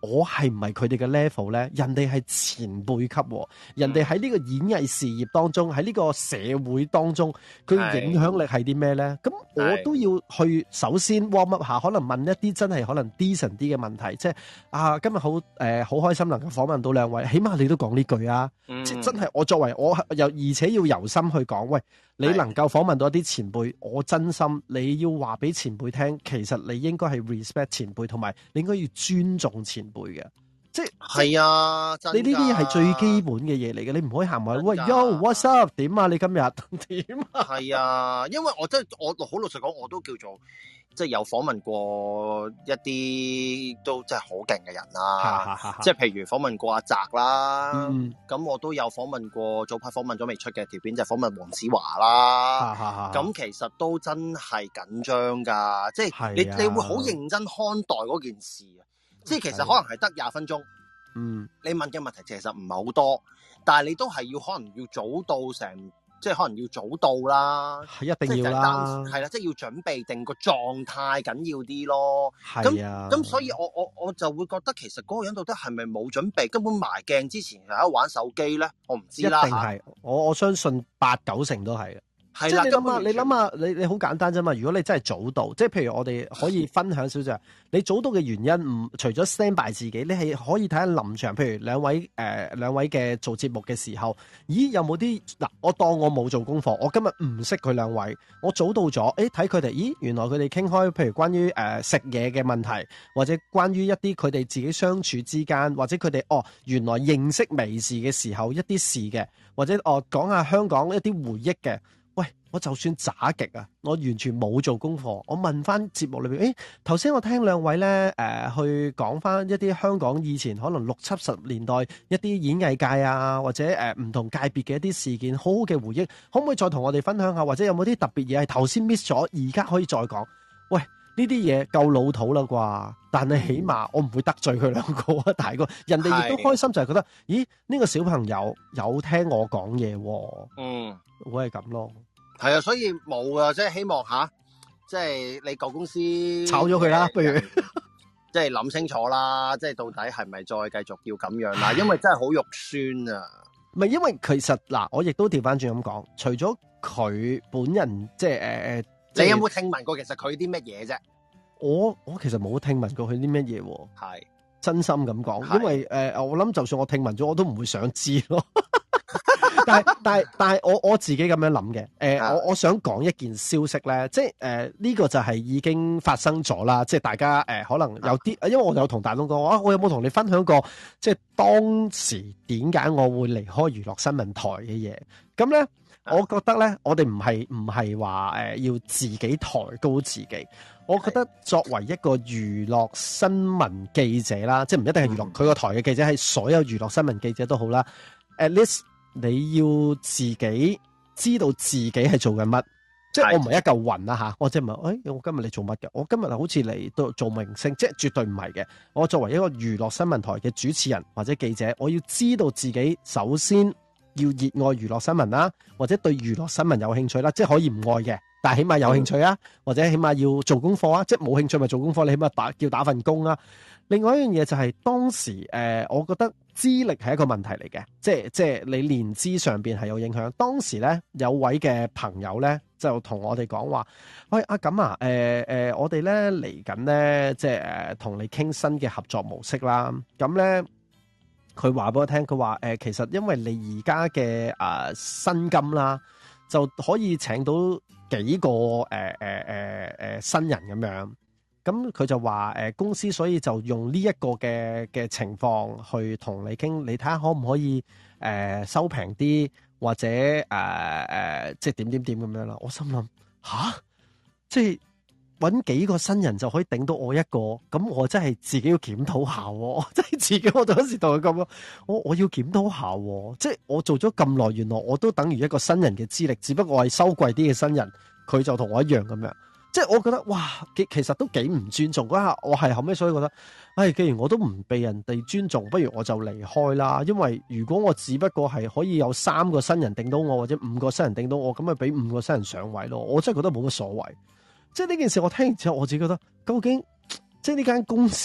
我係唔係佢哋嘅 level 咧？人哋係前輩級，人哋喺呢個演藝事業當中，喺呢個社會當中，佢影響力係啲咩咧？咁我都要去首先 warm up 下，可能問一啲真係可能 decent 啲嘅問題，即係啊，今日好誒好開心能夠訪問到兩位，起碼你都講呢句啊！嗯、即係真係我作為我又而且要由心去講，喂，你能夠訪問到一啲前輩，我真心你要話俾前輩聽，其實你應該係 respect 前輩，同埋你應該要尊重前輩嘅，即係係啊！ 你呢啲係最基本嘅嘢嚟嘅，你唔可以行埋喂 Yo，what's up？ 點啊？你今日點啊？ 係啊，因為我真係我好老實講，我都叫做即係有訪問過一啲都真係好勁嘅人啦，即係譬如訪問過阿澤啦，咁、嗯、我都有訪問過早排訪問咗未出嘅條片，就係、訪問黃子華啦，咁其實都真係緊張噶，即係你你會好認真看待嗰件事啊，即係其實可能係得廿分鐘，嗯，你問嘅問題其實唔係好多，但係你都係要可能要早到成。即係可能要早到啦， 係一定要啦， 係啦，即係要準備定個狀態緊要啲咯。係啊，咁咁所以我我我就會覺得其實嗰個人到底係咪冇準備，根本埋鏡之前係喺度玩手機咧？我唔知啦。一定係，我我相信八九成都係。係啦，即係你諗下，你諗下，你你好簡單啫嘛。如果你真係早到，即係譬如我哋可以分享少少，你早到嘅原因唔除咗 stand by 自己，你係可以睇下臨場。譬如兩位誒、呃、兩位嘅做節目嘅時候，咦有冇啲嗱？我當我冇做功課，我今日唔識佢兩位，我早到咗，誒睇佢哋，咦原來佢哋傾開，譬如關於誒、呃、食嘢嘅問題，或者關於一啲佢哋自己相處之間，或者佢哋哦原來認識微視嘅時候一啲事嘅，或者哦講下香港一啲回憶嘅。喂，我就算渣極啊，我完全冇做功課。我問翻節目裏邊，誒頭先我聽兩位咧，誒、呃、去講翻一啲香港以前可能六七十年代一啲演藝界啊，或者誒唔、呃、同界別嘅一啲事件，好好嘅回憶，可唔可以再同我哋分享下？或者有冇啲特別嘢係頭先 miss 咗，而家可以再講？喂，呢啲嘢夠老土啦啩，但係起碼我唔會得罪佢兩個啊，大哥，人哋亦都開心就係覺得，咦呢、呢個小朋友有聽我講嘢喎，嗯，會係咁咯。 係啊，所以冇啊，即係希望吓，即係你舊公司炒咗佢啦，不如即係諗清楚啦，即係到底係咪再繼續要咁樣啦？因為真係好肉酸啊！ 唔係，因為其實嗱，我亦都調翻轉咁講，除咗佢本人，即係誒誒， 你有冇聽聞過其實佢啲乜嘢啫？ 我我其實冇聽聞過佢啲乜嘢， 係真心咁講，因為誒、呃，我諗就算我聽聞咗，我都唔會想知咯。但係但係但係我我自己咁樣諗嘅，誒、呃啊、我我想講一件消息咧，即係誒呢個就係已經發生咗啦，即係大家誒、呃、可能有啲，因為我有同大東講，啊我有冇同你分享過，即係當時點解我會離開娛樂新聞台嘅嘢？咁咧，我覺得咧，我哋唔係唔係話誒要自己抬高自己，我覺得作為一個娛樂新聞記者啦，即係唔一定係娛樂佢個台嘅記者，係所有娛樂新聞記者都好啦。At least 你要自己知道自己係做緊乜，即係我唔係一嚿雲啦吓，我即係唔係，誒、哎，我今日嚟做乜嘅？我今日好似嚟到做明星，即係絕對唔係嘅。我作為一個娛樂新聞台嘅主持人或者記者，我要知道自己首先要熱愛娛樂新聞啦，或者對娛樂新聞有興趣啦，即係可以唔愛嘅，但係起碼有興趣啊，或者起碼要做功課啊，即係冇興趣咪做功課，你起碼打叫打份工啊。另外一樣嘢就係當時誒、呃，我覺得資歷係一個問題嚟嘅，即係即係你年資上邊係有影響。當時咧有位嘅朋友咧就同我哋講話，喂阿錦啊，誒、呃、誒、呃，我哋咧嚟緊咧，即係誒同你傾新嘅合作模式啦。咁咧佢話俾我聽，佢話誒其實因為你而家嘅誒薪金啦，就可以請到幾個誒誒誒誒新人咁樣。咁佢就話誒、呃、公司所以就用呢一個嘅嘅情況去同你傾，你睇下可唔可以誒、呃、收平啲，或者誒誒、呃、即係點點點咁樣啦。我心諗吓，即係搵幾個新人就可以頂到我一個，咁我真係自己要檢討下喎，即係自己我嗰時同佢咁咯，我我要檢討下喎，即係我做咗咁耐，原來我都等於一個新人嘅資歷，只不過我係收貴啲嘅新人，佢就同我一樣咁樣。即係我覺得哇，其實都幾唔尊重嗰下。我係後尾所以覺得，唉、哎，既然我都唔被人哋尊重，不如我就離開啦。因為如果我只不過係可以有三個新人頂到我，或者五個新人頂到我，咁咪俾五個新人上位咯。我真係覺得冇乜所謂。即係呢件事我聽完之後，我自己覺得，究竟即係呢間公司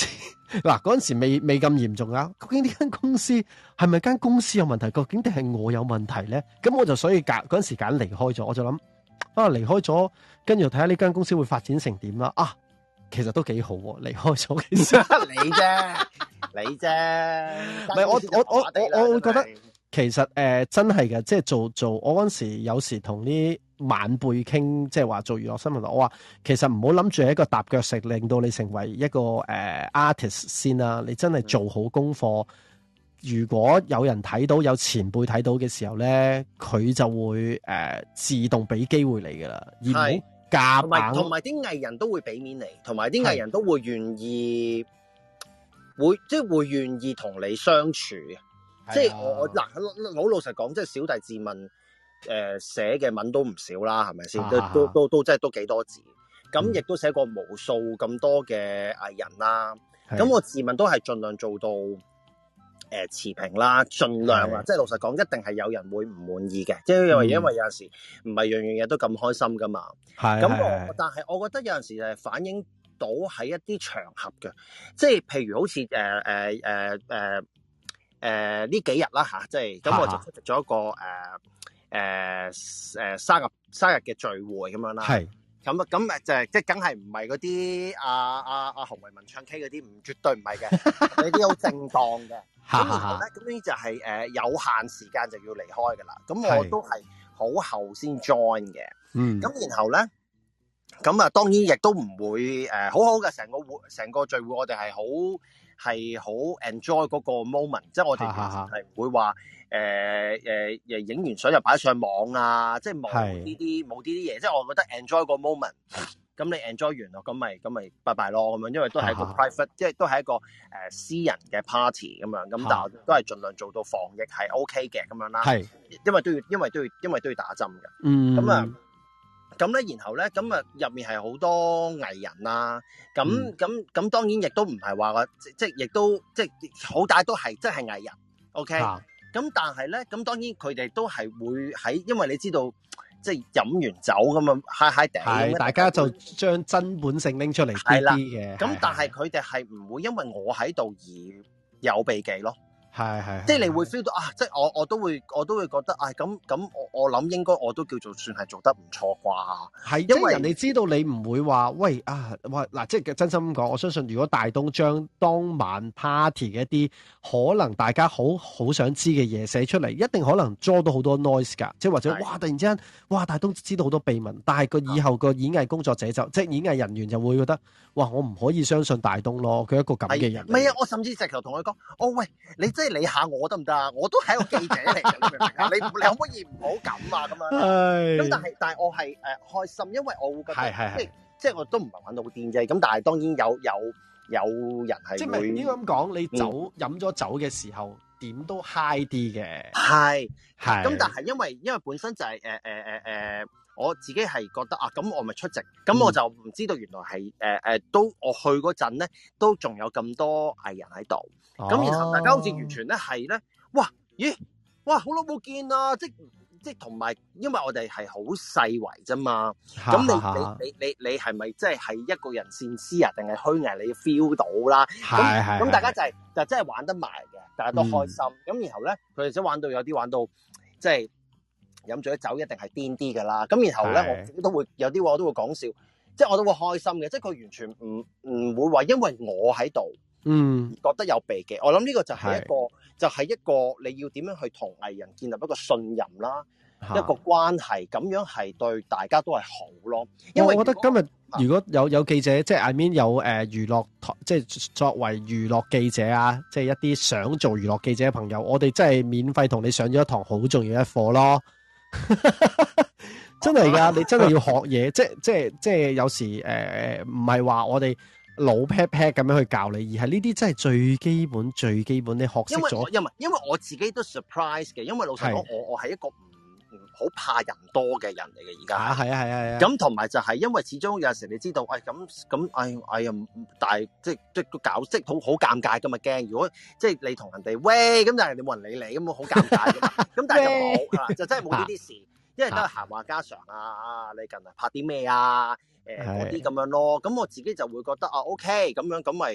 嗱，嗰陣時未未咁嚴重啊！究竟呢間公司係咪間公司有問題？究竟定係我有問題咧？咁我就所以揀嗰陣時揀離開咗，我就諗啊，離開咗，跟住睇下呢間公司會發展成點啦。啊，其實都幾好喎，離開咗其實你啫，你啫， 唔係我我我我我會覺得其實誒、呃、真係嘅，即係做做我嗰陣時有時同啲晚輩傾，即係話做娛樂新聞，我話其實唔好諗住係一個踏腳石，令到你成為一個誒、呃、artist 先啦。你真係做好功課，如果有人睇到，有前輩睇到嘅時候咧，佢就會誒、呃、自動俾機會你噶啦，而唔好夾硬。 同埋啲藝人都會俾面你，同埋啲藝人都會願意，會即係會願意同你相處。即係我我嗱好老實講，即係小弟自問。誒，寫嘅文都唔少啦，係咪先？都都都都即係都幾多字，咁亦都寫過無數咁多嘅藝人啦。咁我自問都係盡量做到誒、呃、持平啦，盡量啊，即係老實講，一定係有人會唔滿意嘅，即係因為因為有陣時唔係樣樣嘢都咁開心噶嘛。係咁我，但係我覺得有陣時係反映到喺一啲場合嘅，即係譬如好似誒誒誒誒誒呢幾日啦吓，即係咁我就出席咗一個誒。呃誒、呃、誒、呃、生日生日嘅聚會咁樣啦，係咁啊咁誒就係即係梗係唔係嗰啲阿阿阿洪為民唱 K 嗰啲，唔絕對唔係嘅，呢啲好正當嘅。咁然後咧，咁呢就係、是、誒、呃、有限時間就要離開㗎啦。咁我都係好後先 join 嘅。嗯，咁然後咧，咁啊當然亦都唔會誒、呃、好好嘅成個會成個聚會，我哋係好係好 enjoy 嗰個 moment，即係我哋係唔會話。誒誒誒，影完相就擺上網啊！即係冇呢啲冇呢啲嘢，即係我覺得 enjoy 個 moment。咁你 enjoy 完咯，咁咪咁咪拜拜咯咁樣，因為都係一個 private，即係都係一個誒、呃、私人嘅 party 咁樣。咁但係都係盡量做到防疫係 OK 嘅咁樣啦。係，因為都要因為都要因為都要打針嘅。嗯。咁啊，咁咧，然後咧，咁啊入面係好多藝人啦。咁咁咁當然亦都唔係話個即即亦都即係好大都係真係藝人。OK。咁但係咧，咁當然佢哋都係會喺，因為你知道，即係飲完酒咁啊嗨嗨地，係大家就將真本性拎出嚟啲啲嘅。咁但係佢哋係唔會因為我喺度而有避忌咯。係係，即係你會 feel 到啊！即係我我都會我都會覺得啊咁咁我我諗應該我都叫做算係做得唔錯啩。係，因為人哋知道你唔會話喂啊哇嗱，即係真心咁講，我相信如果大東將當晚 party 嘅一啲可能大家好好想知嘅嘢寫出嚟，一定可能 draw 到好多 noise 㗎。即係或者哇突然之間哇大東知道好多秘密，但係個以後個演藝工作者就即係演藝人員就會覺得哇我唔可以相信大東咯，佢一個咁嘅人。唔係啊，我甚至直頭同佢講，哦喂你。即係你嚇我得唔得啊？我都係一個記者嚟嘅，你明唔明啊？你你可唔可以唔好咁啊？咁樣咁但係但係我係誒、呃、開心，因為我會覺得即係即係我都唔係玩到好癲啫。咁但係當然有有有人係即係應該咁講，你酒飲咗酒嘅時候點都 high 啲嘅。係係咁，但係因為因為本身就係誒誒誒誒，我自己係覺得啊，咁我咪出席，咁、嗯、我就唔知道原來係誒誒都我去嗰陣咧，都仲有咁多藝人喺度。咁、哦、然後大家好似完全咧係咧，哇咦哇好耐冇見啦！即即同埋，因為我哋係好細圍啫嘛。咁你你你你你係咪即係係一個人善思啊，定係虛偽？你 feel 到啦。係係。咁大家就係、是、就真係玩得埋嘅，大家都開心。咁、嗯、然後咧，佢哋即玩到有啲玩到即係飲咗酒一定係癲啲㗎啦。咁然後咧，我自己都會有啲我都會講笑，即係我都會開心嘅。即係佢完全唔唔會話因為我喺度。嗯，覺得有避忌，我諗呢個就係一個，就係、是、一個你要點樣去同藝人建立一個信任啦，一個關係，咁樣係對大家都係好咯。因為我覺得今日如果有有記者，即係 I mean 有誒娛樂台，即係作為娛樂記者啊，即係一啲想做娛樂記者嘅朋友，我哋真係免費同你上咗一堂好重要一課咯。真係噶，你真係要學嘢，即係即係即係有時誒唔係話我哋。老 pat pat 咁樣去教你，而係呢啲真係最基本、最基本你學識咗。因為因為我自己都 surprise 嘅，因為老實講，我我係一個唔唔好怕人多嘅人嚟嘅而家。啊，係啊，係啊，係啊。咁同埋就係因為始終有陣時你知道，誒咁咁，哎哎呀，但係即即個搞即好好尷尬㗎嘛，驚如果即係你同人哋喂咁，但係人哋冇人理你咁，好尷尬㗎嘛。咁但係就冇就真係冇呢啲事，因為都係閒話家常啊。啊，你近嚟拍啲咩啊？誒嗰啲咁樣咯，咁我自己就會覺得啊 OK 咁樣，咁咪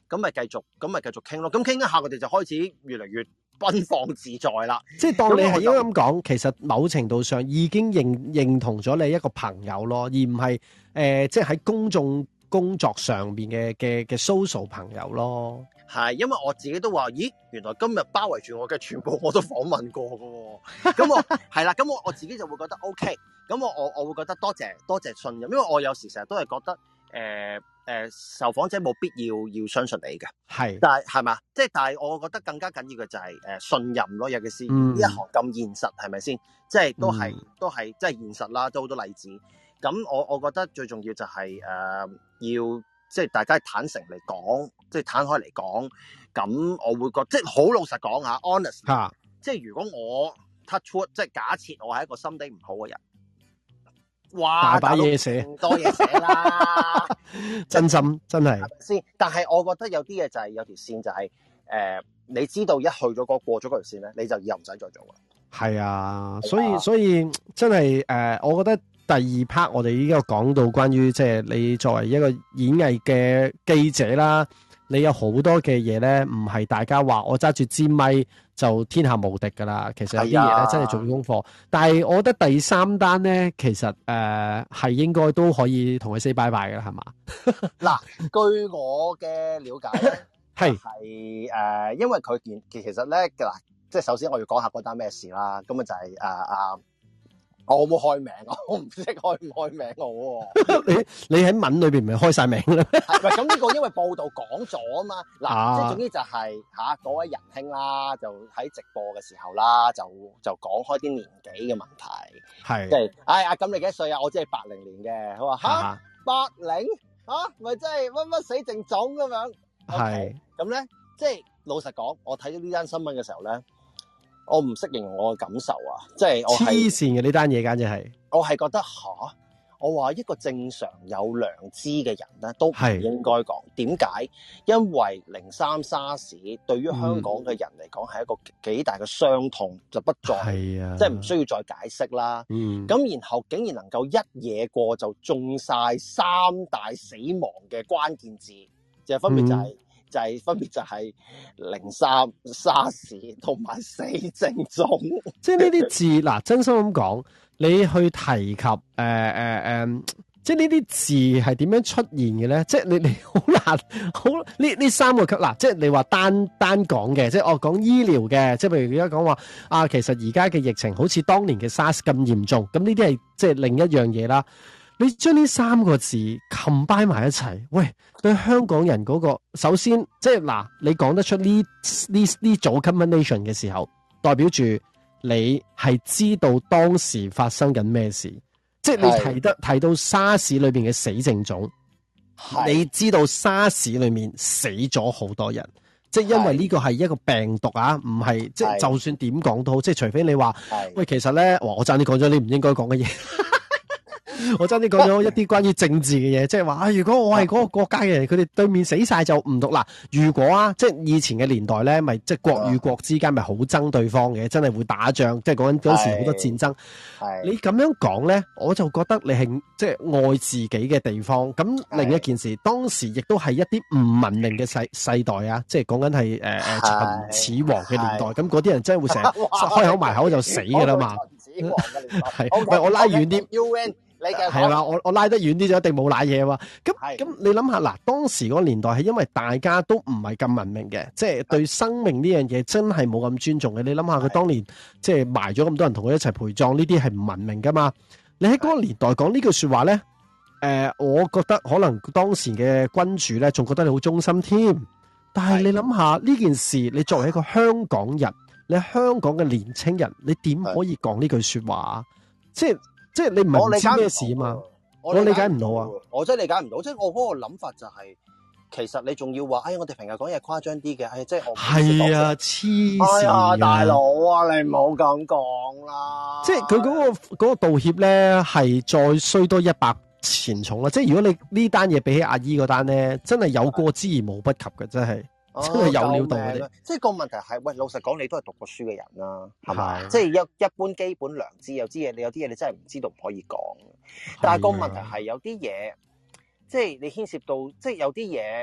咁咪繼續，咁咪繼續傾咯。咁傾一下，佢哋就開始越嚟越奔放自在啦。 即係當你係應該咁講，其實某程度上已經認認同咗你一個朋友咯，而唔係誒，即係喺公眾工作上邊嘅嘅嘅 social 朋友咯。 係，因為我自己都話，咦，原來今日包圍住我嘅全部我都訪問過㗎喎。咁我係啦，咁我我自己就會覺得 OK。咁我我我會覺得多謝多謝信任，因為我有時成日都係覺得誒。呃誒、呃，受訪者冇必要要相信你嘅，係，但係係嘛，即係但係我覺得更加緊要嘅就係、是、誒、呃、信任咯，尤其是呢、嗯、一行咁現實，係咪先？即係都係、嗯、都係即係現實啦，都好多例子。咁我我覺得最重要就係、是、誒、呃、要即係大家坦誠嚟講，即係攤開嚟講。咁我會覺得即係好老實講下 honest，、啊、即係如果我 touch wood，即係假設我係一個心地唔好嘅人。哇！ 大把嘢寫， 多嘢寫啦， 真心真係先。但係我覺得有啲嘢就係、是、有條線就係、是、誒、呃，你知道一去咗嗰過咗嗰條線咧，你就以後唔使再做啦。係啊，所以所以真係誒、呃，我覺得第二 part 我哋依家講到關於即係你作為一個演藝嘅記者啦，你有好多嘅嘢咧，唔係大家話我揸住支咪就天下無敵噶啦。其實有啲嘢咧真係做功課。但係我覺得第三單咧，其實誒係、呃、應該都可以同佢 say bye bye 噶啦，係嘛？ 嗱，據我嘅了解咧，係係誒，因為佢件其實咧嗱，即係首先我要講下嗰單咩事啦。咁啊就係誒啊。我冇開名，我唔識開唔開名我。 你你喺文裏邊唔係開晒名啦？ 係咪咁呢個因為報道講咗啊嘛？嗱，即係總之就係吓嗰位仁兄啦，就喺直播嘅時候啦，就就講開啲年紀嘅問題。係即係，哎呀，咁你幾多歲啊？我只係八零年嘅。佢話吓八零吓，咪真係乜乜死剩種咁樣。係咁咧，即係老實講，我睇到呢單新聞嘅時候咧。我唔識形容我嘅感受啊，即係我係黐線嘅呢單嘢，簡直係我係覺得吓，我話一個正常有良知嘅人咧，都唔應該講。點解？因為零三沙士對於香港嘅人嚟講係一個幾大嘅傷痛，就不再係啊，即係唔需要再解釋啦。嗯，咁然後竟然能夠一嘢過就中晒三大死亡嘅關鍵字，就係分別就係、是。嗯就係、是、分別就係零三沙士同埋死剩種， 即係呢啲字嗱，真心咁講，你去提及誒誒誒，即係呢啲字係點樣出現嘅咧？即係你你好難好呢呢三個級嗱，即係你話單單講嘅，即係我講醫療嘅，即係譬如而家講話啊，其實而家嘅疫情好似當年嘅 SARS 咁嚴重，咁呢啲係即係另一樣嘢啦。你將呢三個字 combine 埋一齊，喂，對香港人嗰個，首先即係嗱，你講得出呢呢呢組 combination 嘅時候，代表住你係知道當時發生緊咩事，即係你提得提到沙士裏邊嘅死剩種，你知道沙士裏面死咗好多人，即係因為呢個係一個病毒啊，唔係即係就算點講都好，即係除非你話，喂，其實咧，哇，我爭啲講咗你唔應該講嘅嘢。我真係講咗一啲關於政治嘅嘢，即係話啊，如果我係嗰個國家嘅人，佢哋對面死晒就唔讀啦。如果啊，即係以前嘅年代咧，咪即係國與國之間咪好憎對方嘅，真係會打仗，即係講緊嗰時好多戰爭。係你咁樣講咧，我就覺得你係即係愛自己嘅地方。咁另一件事，當時亦都係一啲唔文明嘅世世代啊，即係講緊係誒誒秦始皇嘅年代。咁嗰啲人真係會成日開口埋口就死噶啦嘛。秦始皇嘅年代係，喂，我拉遠啲。係啦，我我拉得遠啲就一定冇瀨嘢嘛。咁咁你諗下嗱，當時嗰個年代係因為大家都唔係咁文明嘅，即係對生命呢樣嘢真係冇咁尊重嘅。你諗下佢當年即係埋咗咁多人同佢一齊陪葬，呢啲係唔文明噶嘛。你喺嗰個年代講呢句說話咧，誒、呃，我覺得可能當時嘅君主咧，仲覺得你好忠心添。但係你諗下呢件事，你作為一個香港人，你香港嘅年青人，你點可以講呢句說話？即係。即係你唔係唔知咩事啊嘛，我理解唔到啊！ 我真係理解唔到，即係我嗰個諗法就係、是，其實你仲要話，哎，我哋平日講嘢誇張啲嘅，哎，即係我係啊，黐線啊， 大佬啊，你唔好咁講啦！ 即係佢嗰個嗰、嗰個道歉咧，係再衰多一百錢重啦！即係如果你呢單嘢比起阿姨嗰單咧，真係有過之而無不及嘅，真係。真係有料到嘅， 即係個問題係，喂，老實講，你都係讀過書嘅人啦，係咪？即係一一般基本良知，有啲嘢你有啲嘢你真係唔知道唔可以講。但係個問題係有啲嘢，即係你牽涉到，即係有啲嘢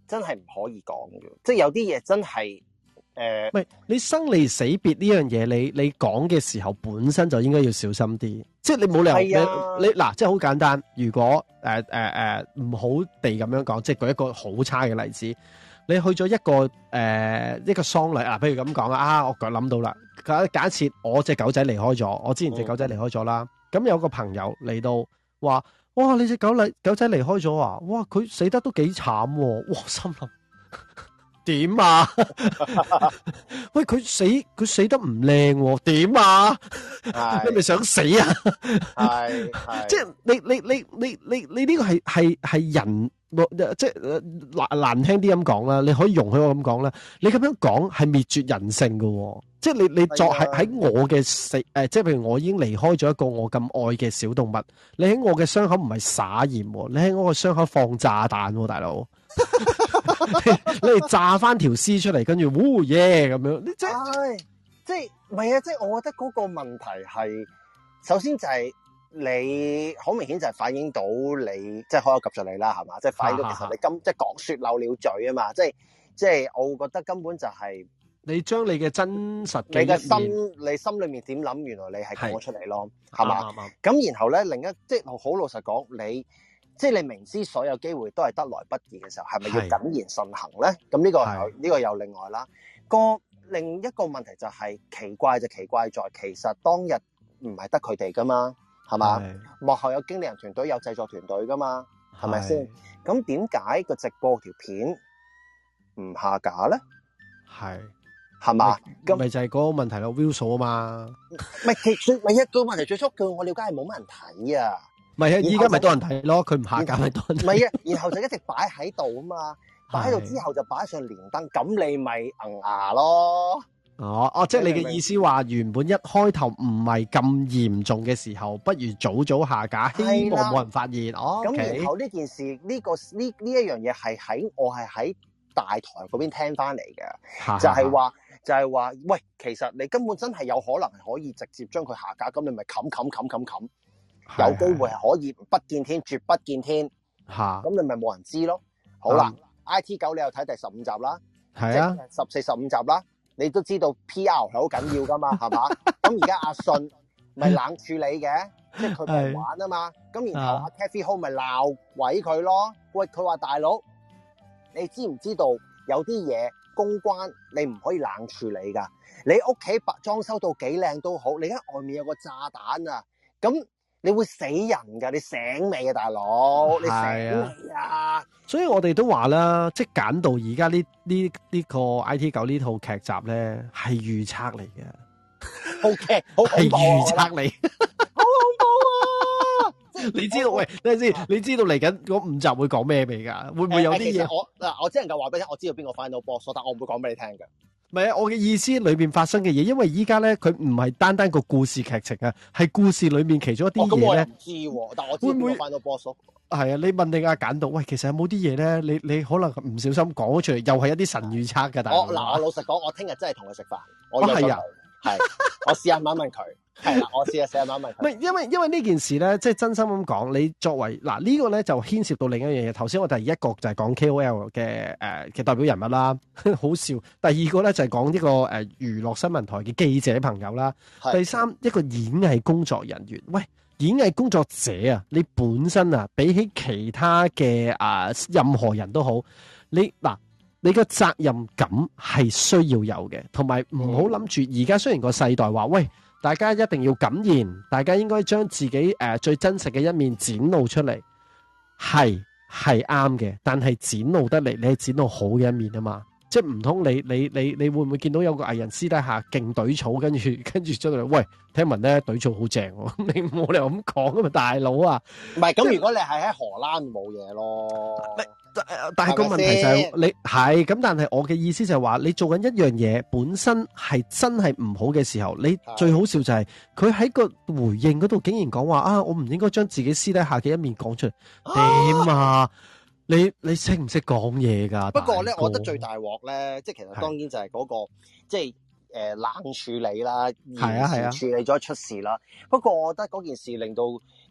真係唔可以講嘅，即係有啲嘢真係誒， 唔係你生離死別呢樣嘢，你你講嘅時候本身就應該要小心啲，即係你冇理由、啊、你嗱，即係好簡單。如果誒誒誒唔好地咁樣講，即係舉一個好差嘅例子，你去咗一個誒、呃、一個喪禮啊，譬如咁講啊，我諗到啦，假假設我隻狗仔離開咗，我之前隻狗仔離開咗啦，咁、嗯、有個朋友嚟到話，哇，你隻狗嚟狗仔離開咗啊，哇，佢死得都幾慘喎，哇，心諗。點啊？喂，佢死佢死得唔靚喎？點啊？你咪想死啊？係係，即係你你你你你你呢個係係係人，即係難難聽啲咁講啦。你可以容許我咁講啦。你咁樣講係滅絕人性噶，即係你你作喺喺我嘅死誒，即係譬如我已經離開咗一個我咁愛嘅小動物，你喺我嘅傷口唔係撒鹽，你喺我嘅傷口放炸彈，大佬。你哋炸翻條屍出嚟，跟住嗚耶咁樣，你即係即係唔係啊？即係我覺得嗰個問題係，首先就係你好明顯就係反映到你即係可有及著你啦，係嘛？即係反映到其實你今即係講說漏了嘴啊嘛！即係即係我會覺得根本就係你將你嘅真實嘅你嘅心，你心裏面點諗，原來你係講出嚟咯，係嘛？咁然後咧，另一即係好老實講，你。即係你明知所有機會都係得來不易嘅時候，係咪要謹言慎行咧？咁呢個呢、呢個又另外啦。個另一個問題就係、係、奇怪就奇怪在，其實當日唔係得佢哋噶嘛，係嘛？幕後有經理人團隊、有製作團隊噶嘛，係咪先？咁點解個直播條片唔下架咧？係係嘛？咁咪就係嗰個問題咯 view 數啊嘛。 咪其最咪一個問題最初據我了解係冇乜人睇啊。 唔係啊，依家咪多人睇咯，佢唔下架咪多人睇。 唔係啊，然後就一直擺喺度啊嘛，擺喺度之後就擺上連登，咁你咪硬牙咯。 哦哦，即係你嘅意思話，原本一開頭唔係咁嚴重嘅時候，不如早早下架，希望冇人發現。哦，咁、okay、 然後呢件事呢、呢個呢呢一樣嘢係喺我係喺大台嗰邊聽翻嚟嘅，就係話就係話，喂，其實你根本真係有可能係可以直接將佢下架，咁你咪冚冚冚冚冚。有機會係可以不見天，絕不見天。吓，咁你咪冇人知咯。好啦、嗯、，I T 九你又睇第十五集啦，係啊，十四十五集啦，你都知道 P R 係好緊要噶嘛，係嘛？咁而家阿信咪冷處理嘅，即係佢唔玩啊嘛。咁然後阿 Kathy Ho 咪鬧鬼佢咯。喂，佢話大佬，你知唔知道有啲嘢公關你唔可以冷處理噶？你屋企白裝修到幾靚都好，你而家外面有個炸彈啊，咁。你會死人㗎，你醒未啊，大佬？你醒未啊？ 所以我哋都話啦，即係揀到而家呢呢呢個 I T 九呢套劇集咧，係預測嚟嘅。O K， 好恐怖啊！係預測嚟， 好恐怖啊！ 你知道？喂，等陣先，你知道嚟緊嗰五集會講咩未㗎？會唔會有啲嘢？ 我嗱，我只能夠話俾你聽，我知道邊個 final boss，但我唔會講俾你聽嘅。 唔係啊，我嘅意思裏邊發生嘅嘢，因為依家咧佢唔係單單個故事劇情啊，係故事裏面其中一啲嘢咧。咁我唔知喎，但我知邊個翻到 boss。係啊，你問你阿簡道，喂，其實有冇啲嘢咧？你你可能唔小心講咗出嚟，又係一啲神預測㗎。但係我嗱，我老實講，我聽日真係同佢食飯。我係啊，係，我試下問一問佢。係啦，我試下寫下問一問佢。唔係，因為因為呢件事咧，即係真心咁講，你作為嗱呢個咧就牽涉到另一樣嘢。頭先我第一個就係講 K O L 嘅誒嘅代表人物啦，好笑。第二個咧就係講呢個誒娛樂新聞台嘅記者朋友啦。第三一個演藝工作人員，喂，演藝工作者啊，你本身啊比起其他嘅啊任何人都好，你嗱你個責任感係需要有嘅，同埋唔好諗住而家雖然個世代話喂。大家一定要敢言，大家應該將自己誒、呃、最真實嘅一面展露出嚟，係係啱嘅。但係展露得嚟，你係展露好嘅一面啊嘛。即係唔通你你你你會唔會見到有個藝人私底下勁懟草，跟住跟住出嚟？喂，聽聞咧懟草好正喎，你冇理由咁講啊嘛，大佬啊！唔係咁，如果你係喺荷蘭冇嘢咯。 但係個問題就係、是、你係咁，但係我嘅意思就係話，你做緊一樣嘢本身係真係唔好嘅時候，你最好笑就係佢喺個回應嗰度竟然講話啊，我唔應該將自己私底下嘅一面講出嚟，點啊？啊你你識唔識講嘢㗎？ 不過咧，我覺得最大鑊咧，即係其實當然就係嗰、那個即係誒冷處理啦，係啊係啊，處理咗出事啦。不過我覺得嗰件事令到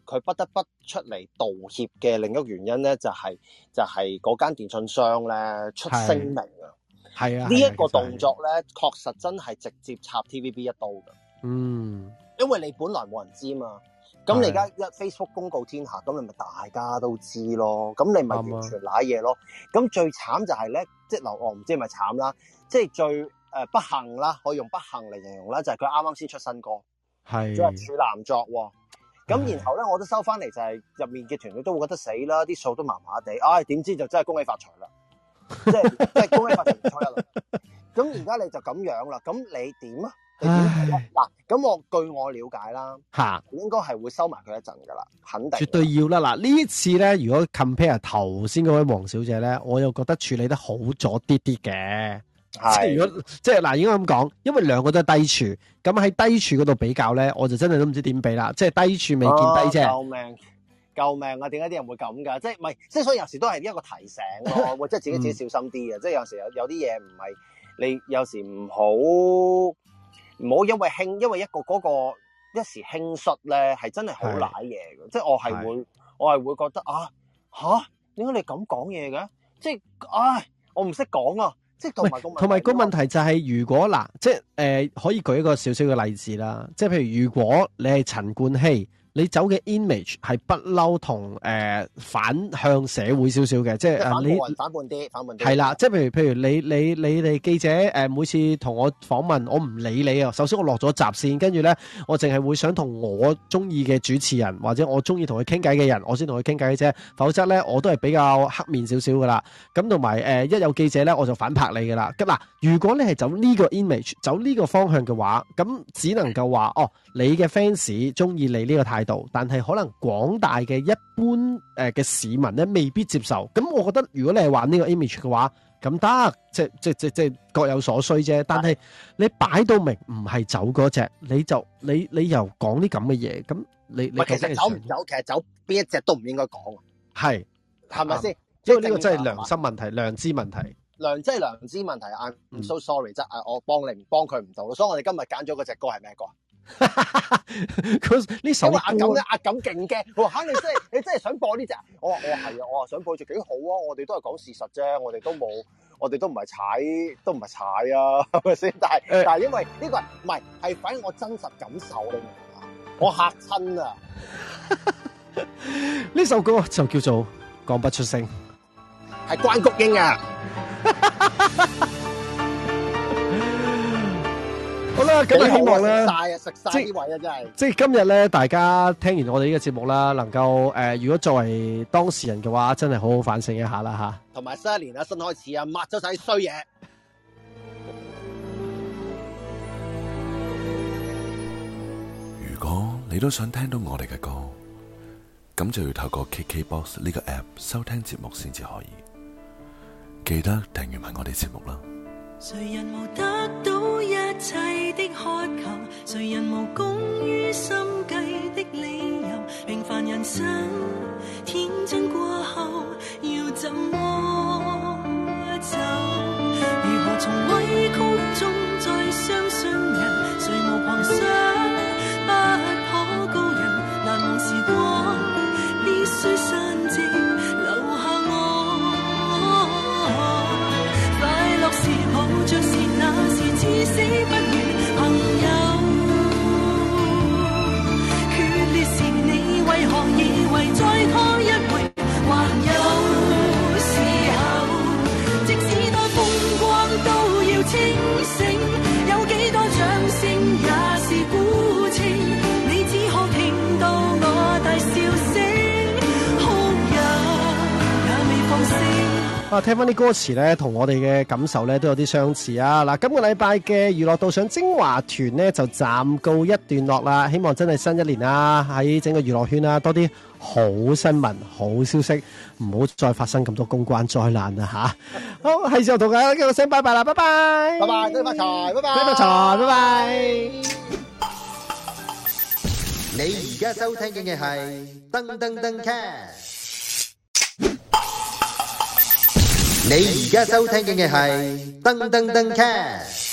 佢不得不出嚟道歉嘅另一個原因咧，就係、是、就係嗰間電信商咧出聲明啊。係啊，呢一個動作咧，確實真係直接插 T V B 一刀㗎。嗯，因為你本來冇人知嘛，咁你而家一 Facebook 公告天下，咁你咪大家都知咯，咁你咪完全瀨嘢咯。咁最慘就係咧，即係嗱，我唔知係咪慘啦，即係最誒不幸啦，可以用不幸嚟形容啦，就係佢啱啱先出新歌，係，仲係處男作喎。咁然後咧，我都收翻嚟就係入面嘅團隊都會覺得死啦，啲數都麻麻地，唉、哎，點知就真係恭喜發財啦！即係即係恭喜發財年初一啦。咁而家你就咁樣啦，咁你點啊？你點睇嗱，咁我據我了解啦，吓應該係會收埋佢一陣噶啦，肯定絕對要啦。嗱呢一次咧，如果 compare 頭先嗰位黃小姐咧，我又覺得處理得好咗啲啲嘅。即係如果即係嗱，應該咁講，因為兩個都係低處，咁喺低處嗰度比較咧，我就真係都唔知點比啦。即係低處未見低啫。救命！救命啊！點解啲人會咁噶？即係唔係？即係所以有時都係一個提醒咯，或者自己自己小心啲嘅。即係有時有有啲嘢唔係你有時唔好唔好因為輕，因為一個嗰個一時輕率咧，係真係好瀨嘢嘅。即係我係會我係會覺得啊吓，點解你咁講嘢嘅？即係唉，我唔識講啊！即係同埋個同埋個問題就係、是，如果嗱，即係誒、呃，可以舉一個少少嘅例子啦。即係譬如，如果你係陳冠希，你走嘅 image 係不嬲同誒反向社會少少嘅，即係誒你反叛啲，反叛啲係啦。即係譬如譬如你你你哋記者誒、呃，每次同我訪問，我唔理你啊。首先我落咗閘先，跟住咧我淨係會想同我中意嘅主持人或者我中意同佢傾偈嘅人，我先同佢傾偈嘅啫。否則咧我都係比較黑面少少噶啦。咁同埋誒一有記者咧，我就反拍你噶啦。咁嗱，如果你係走呢個 image，走呢個方向嘅話，咁只能夠話哦，你嘅 fans 中意你呢個態度，但係可能廣大嘅一般誒嘅市民咧未必接受。咁我覺得如果你係玩呢個 image 嘅話，咁得，即即即即各有所需啫。但係你擺到明唔係走嗰隻，你就你你又講啲咁嘅嘢，咁你你其實走唔走，其實走邊一隻都唔應該講。係係咪先？因為呢個真係良心問題、良知問題。良即係良知問題。I'm so sorry，即係我幫你唔幫佢唔到咯。所以我哋今日揀咗嗰隻歌係咩歌？呢首歌阿錦咧，阿錦勁驚，我話吓，你真係你真係想播呢隻？我話我話係啊，我話想播隻幾好啊！我哋都係講事實啫，我哋都冇，我哋都唔係踩，都唔係踩啊，係咪先？但係、欸、但係因為呢個唔係係反映我真實感受，你明唔明啊？我嚇親啊！呢首歌就叫做講不出聲，係關菊英啊！好啦，咁啊希望咧，食晒啊，食晒啲位啊，真係。即係今日咧，大家聽完我哋呢個節目啦，能夠誒、呃，如果作為當事人嘅話，真係好好反省一下啦吓。同埋新一年啊，新開始啊，抹咗晒啲衰嘢。 如果你都想聽到我哋嘅歌，咁就要透過 K K B O X 呢個 app 收聽節目先至可以。記得訂閱埋我哋節目啦。誰人無得到一切的渴求，誰人無功於心計的理由，平凡人生天真過後要怎麼走，如何從委曲中再相信人，誰無旁想不可告人，難忘時光必須散盡留下我，快樂時抱着是那時至死不渝朋友，決裂時你為何以為再拖一回還有時候，即使多風光都要清醒，有幾多掌聲也是孤情，你只可聽到我大笑聲，哭也也未放聲。啊，聽翻啲歌詞咧，同我哋嘅感受咧都有啲相似啊！嗱，今個禮拜嘅娛樂道上精華團咧就暫告一段落啦。希望真係新一年啊，喺整個娛樂圈啊多啲好新聞、好消息，唔好再發生咁多公關災難啦吓！好，係時候同大家講聲拜拜啦，拜拜，拜拜，恭喜發財，拜拜，恭喜發財，拜拜。你而家收聽嘅係噔噔噔 cast。你而家收聽嘅係噔噔噔 cast。